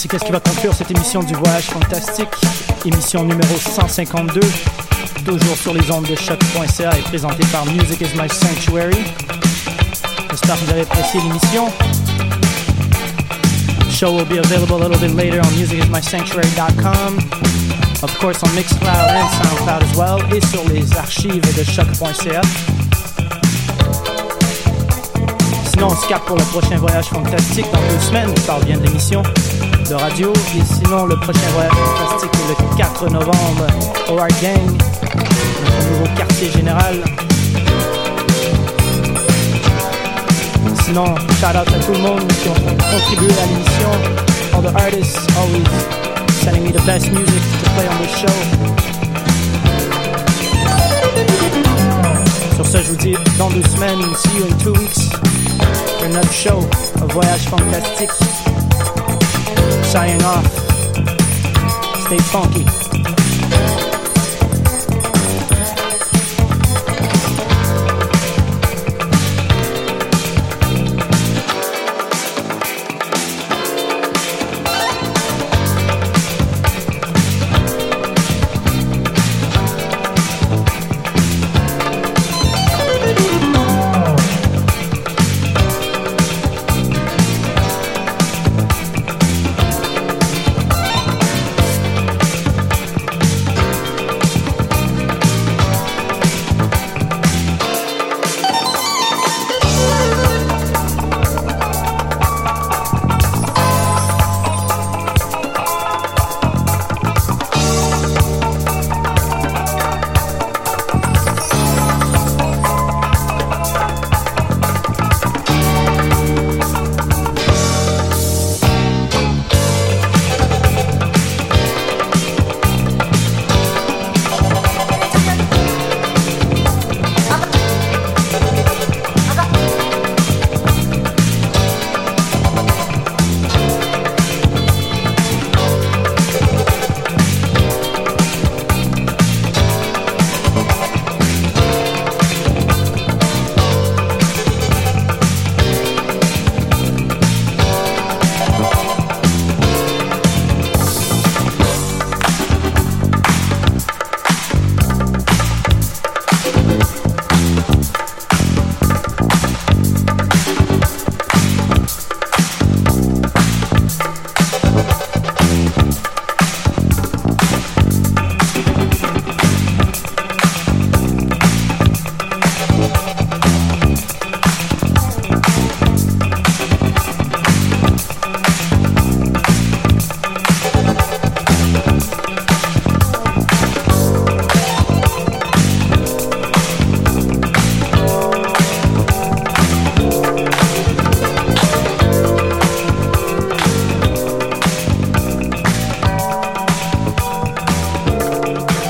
c'est qu'est-ce qui va conclure cette émission du Voyage Fantastique, émission numéro 152, toujours sur les ondes de choc.ca et présentée par Music is My Sanctuary. J'espère que vous avez apprécié l'émission. The show will be available a little bit later on musicismysanctuary.com, of course on Mixcloud and Soundcloud as well, et sur les archives de choc.ca. Sinon, on se capte pour le prochain Voyage Fantastique dans 2 semaines. Je parle bien de l'émission de radio. Et sinon, le prochain Voyage Fantastique est le 4 novembre au Art Gang, notre nouveau quartier général. Sinon, shout out à tout le monde qui ont contribué à l'émission. All the artists always sending me the best music to play on the show. Sur ce, je vous dis dans 2 semaines, see you in 2 weeks. Another show, a Voyage Fantastique. Signing off. Stay funky.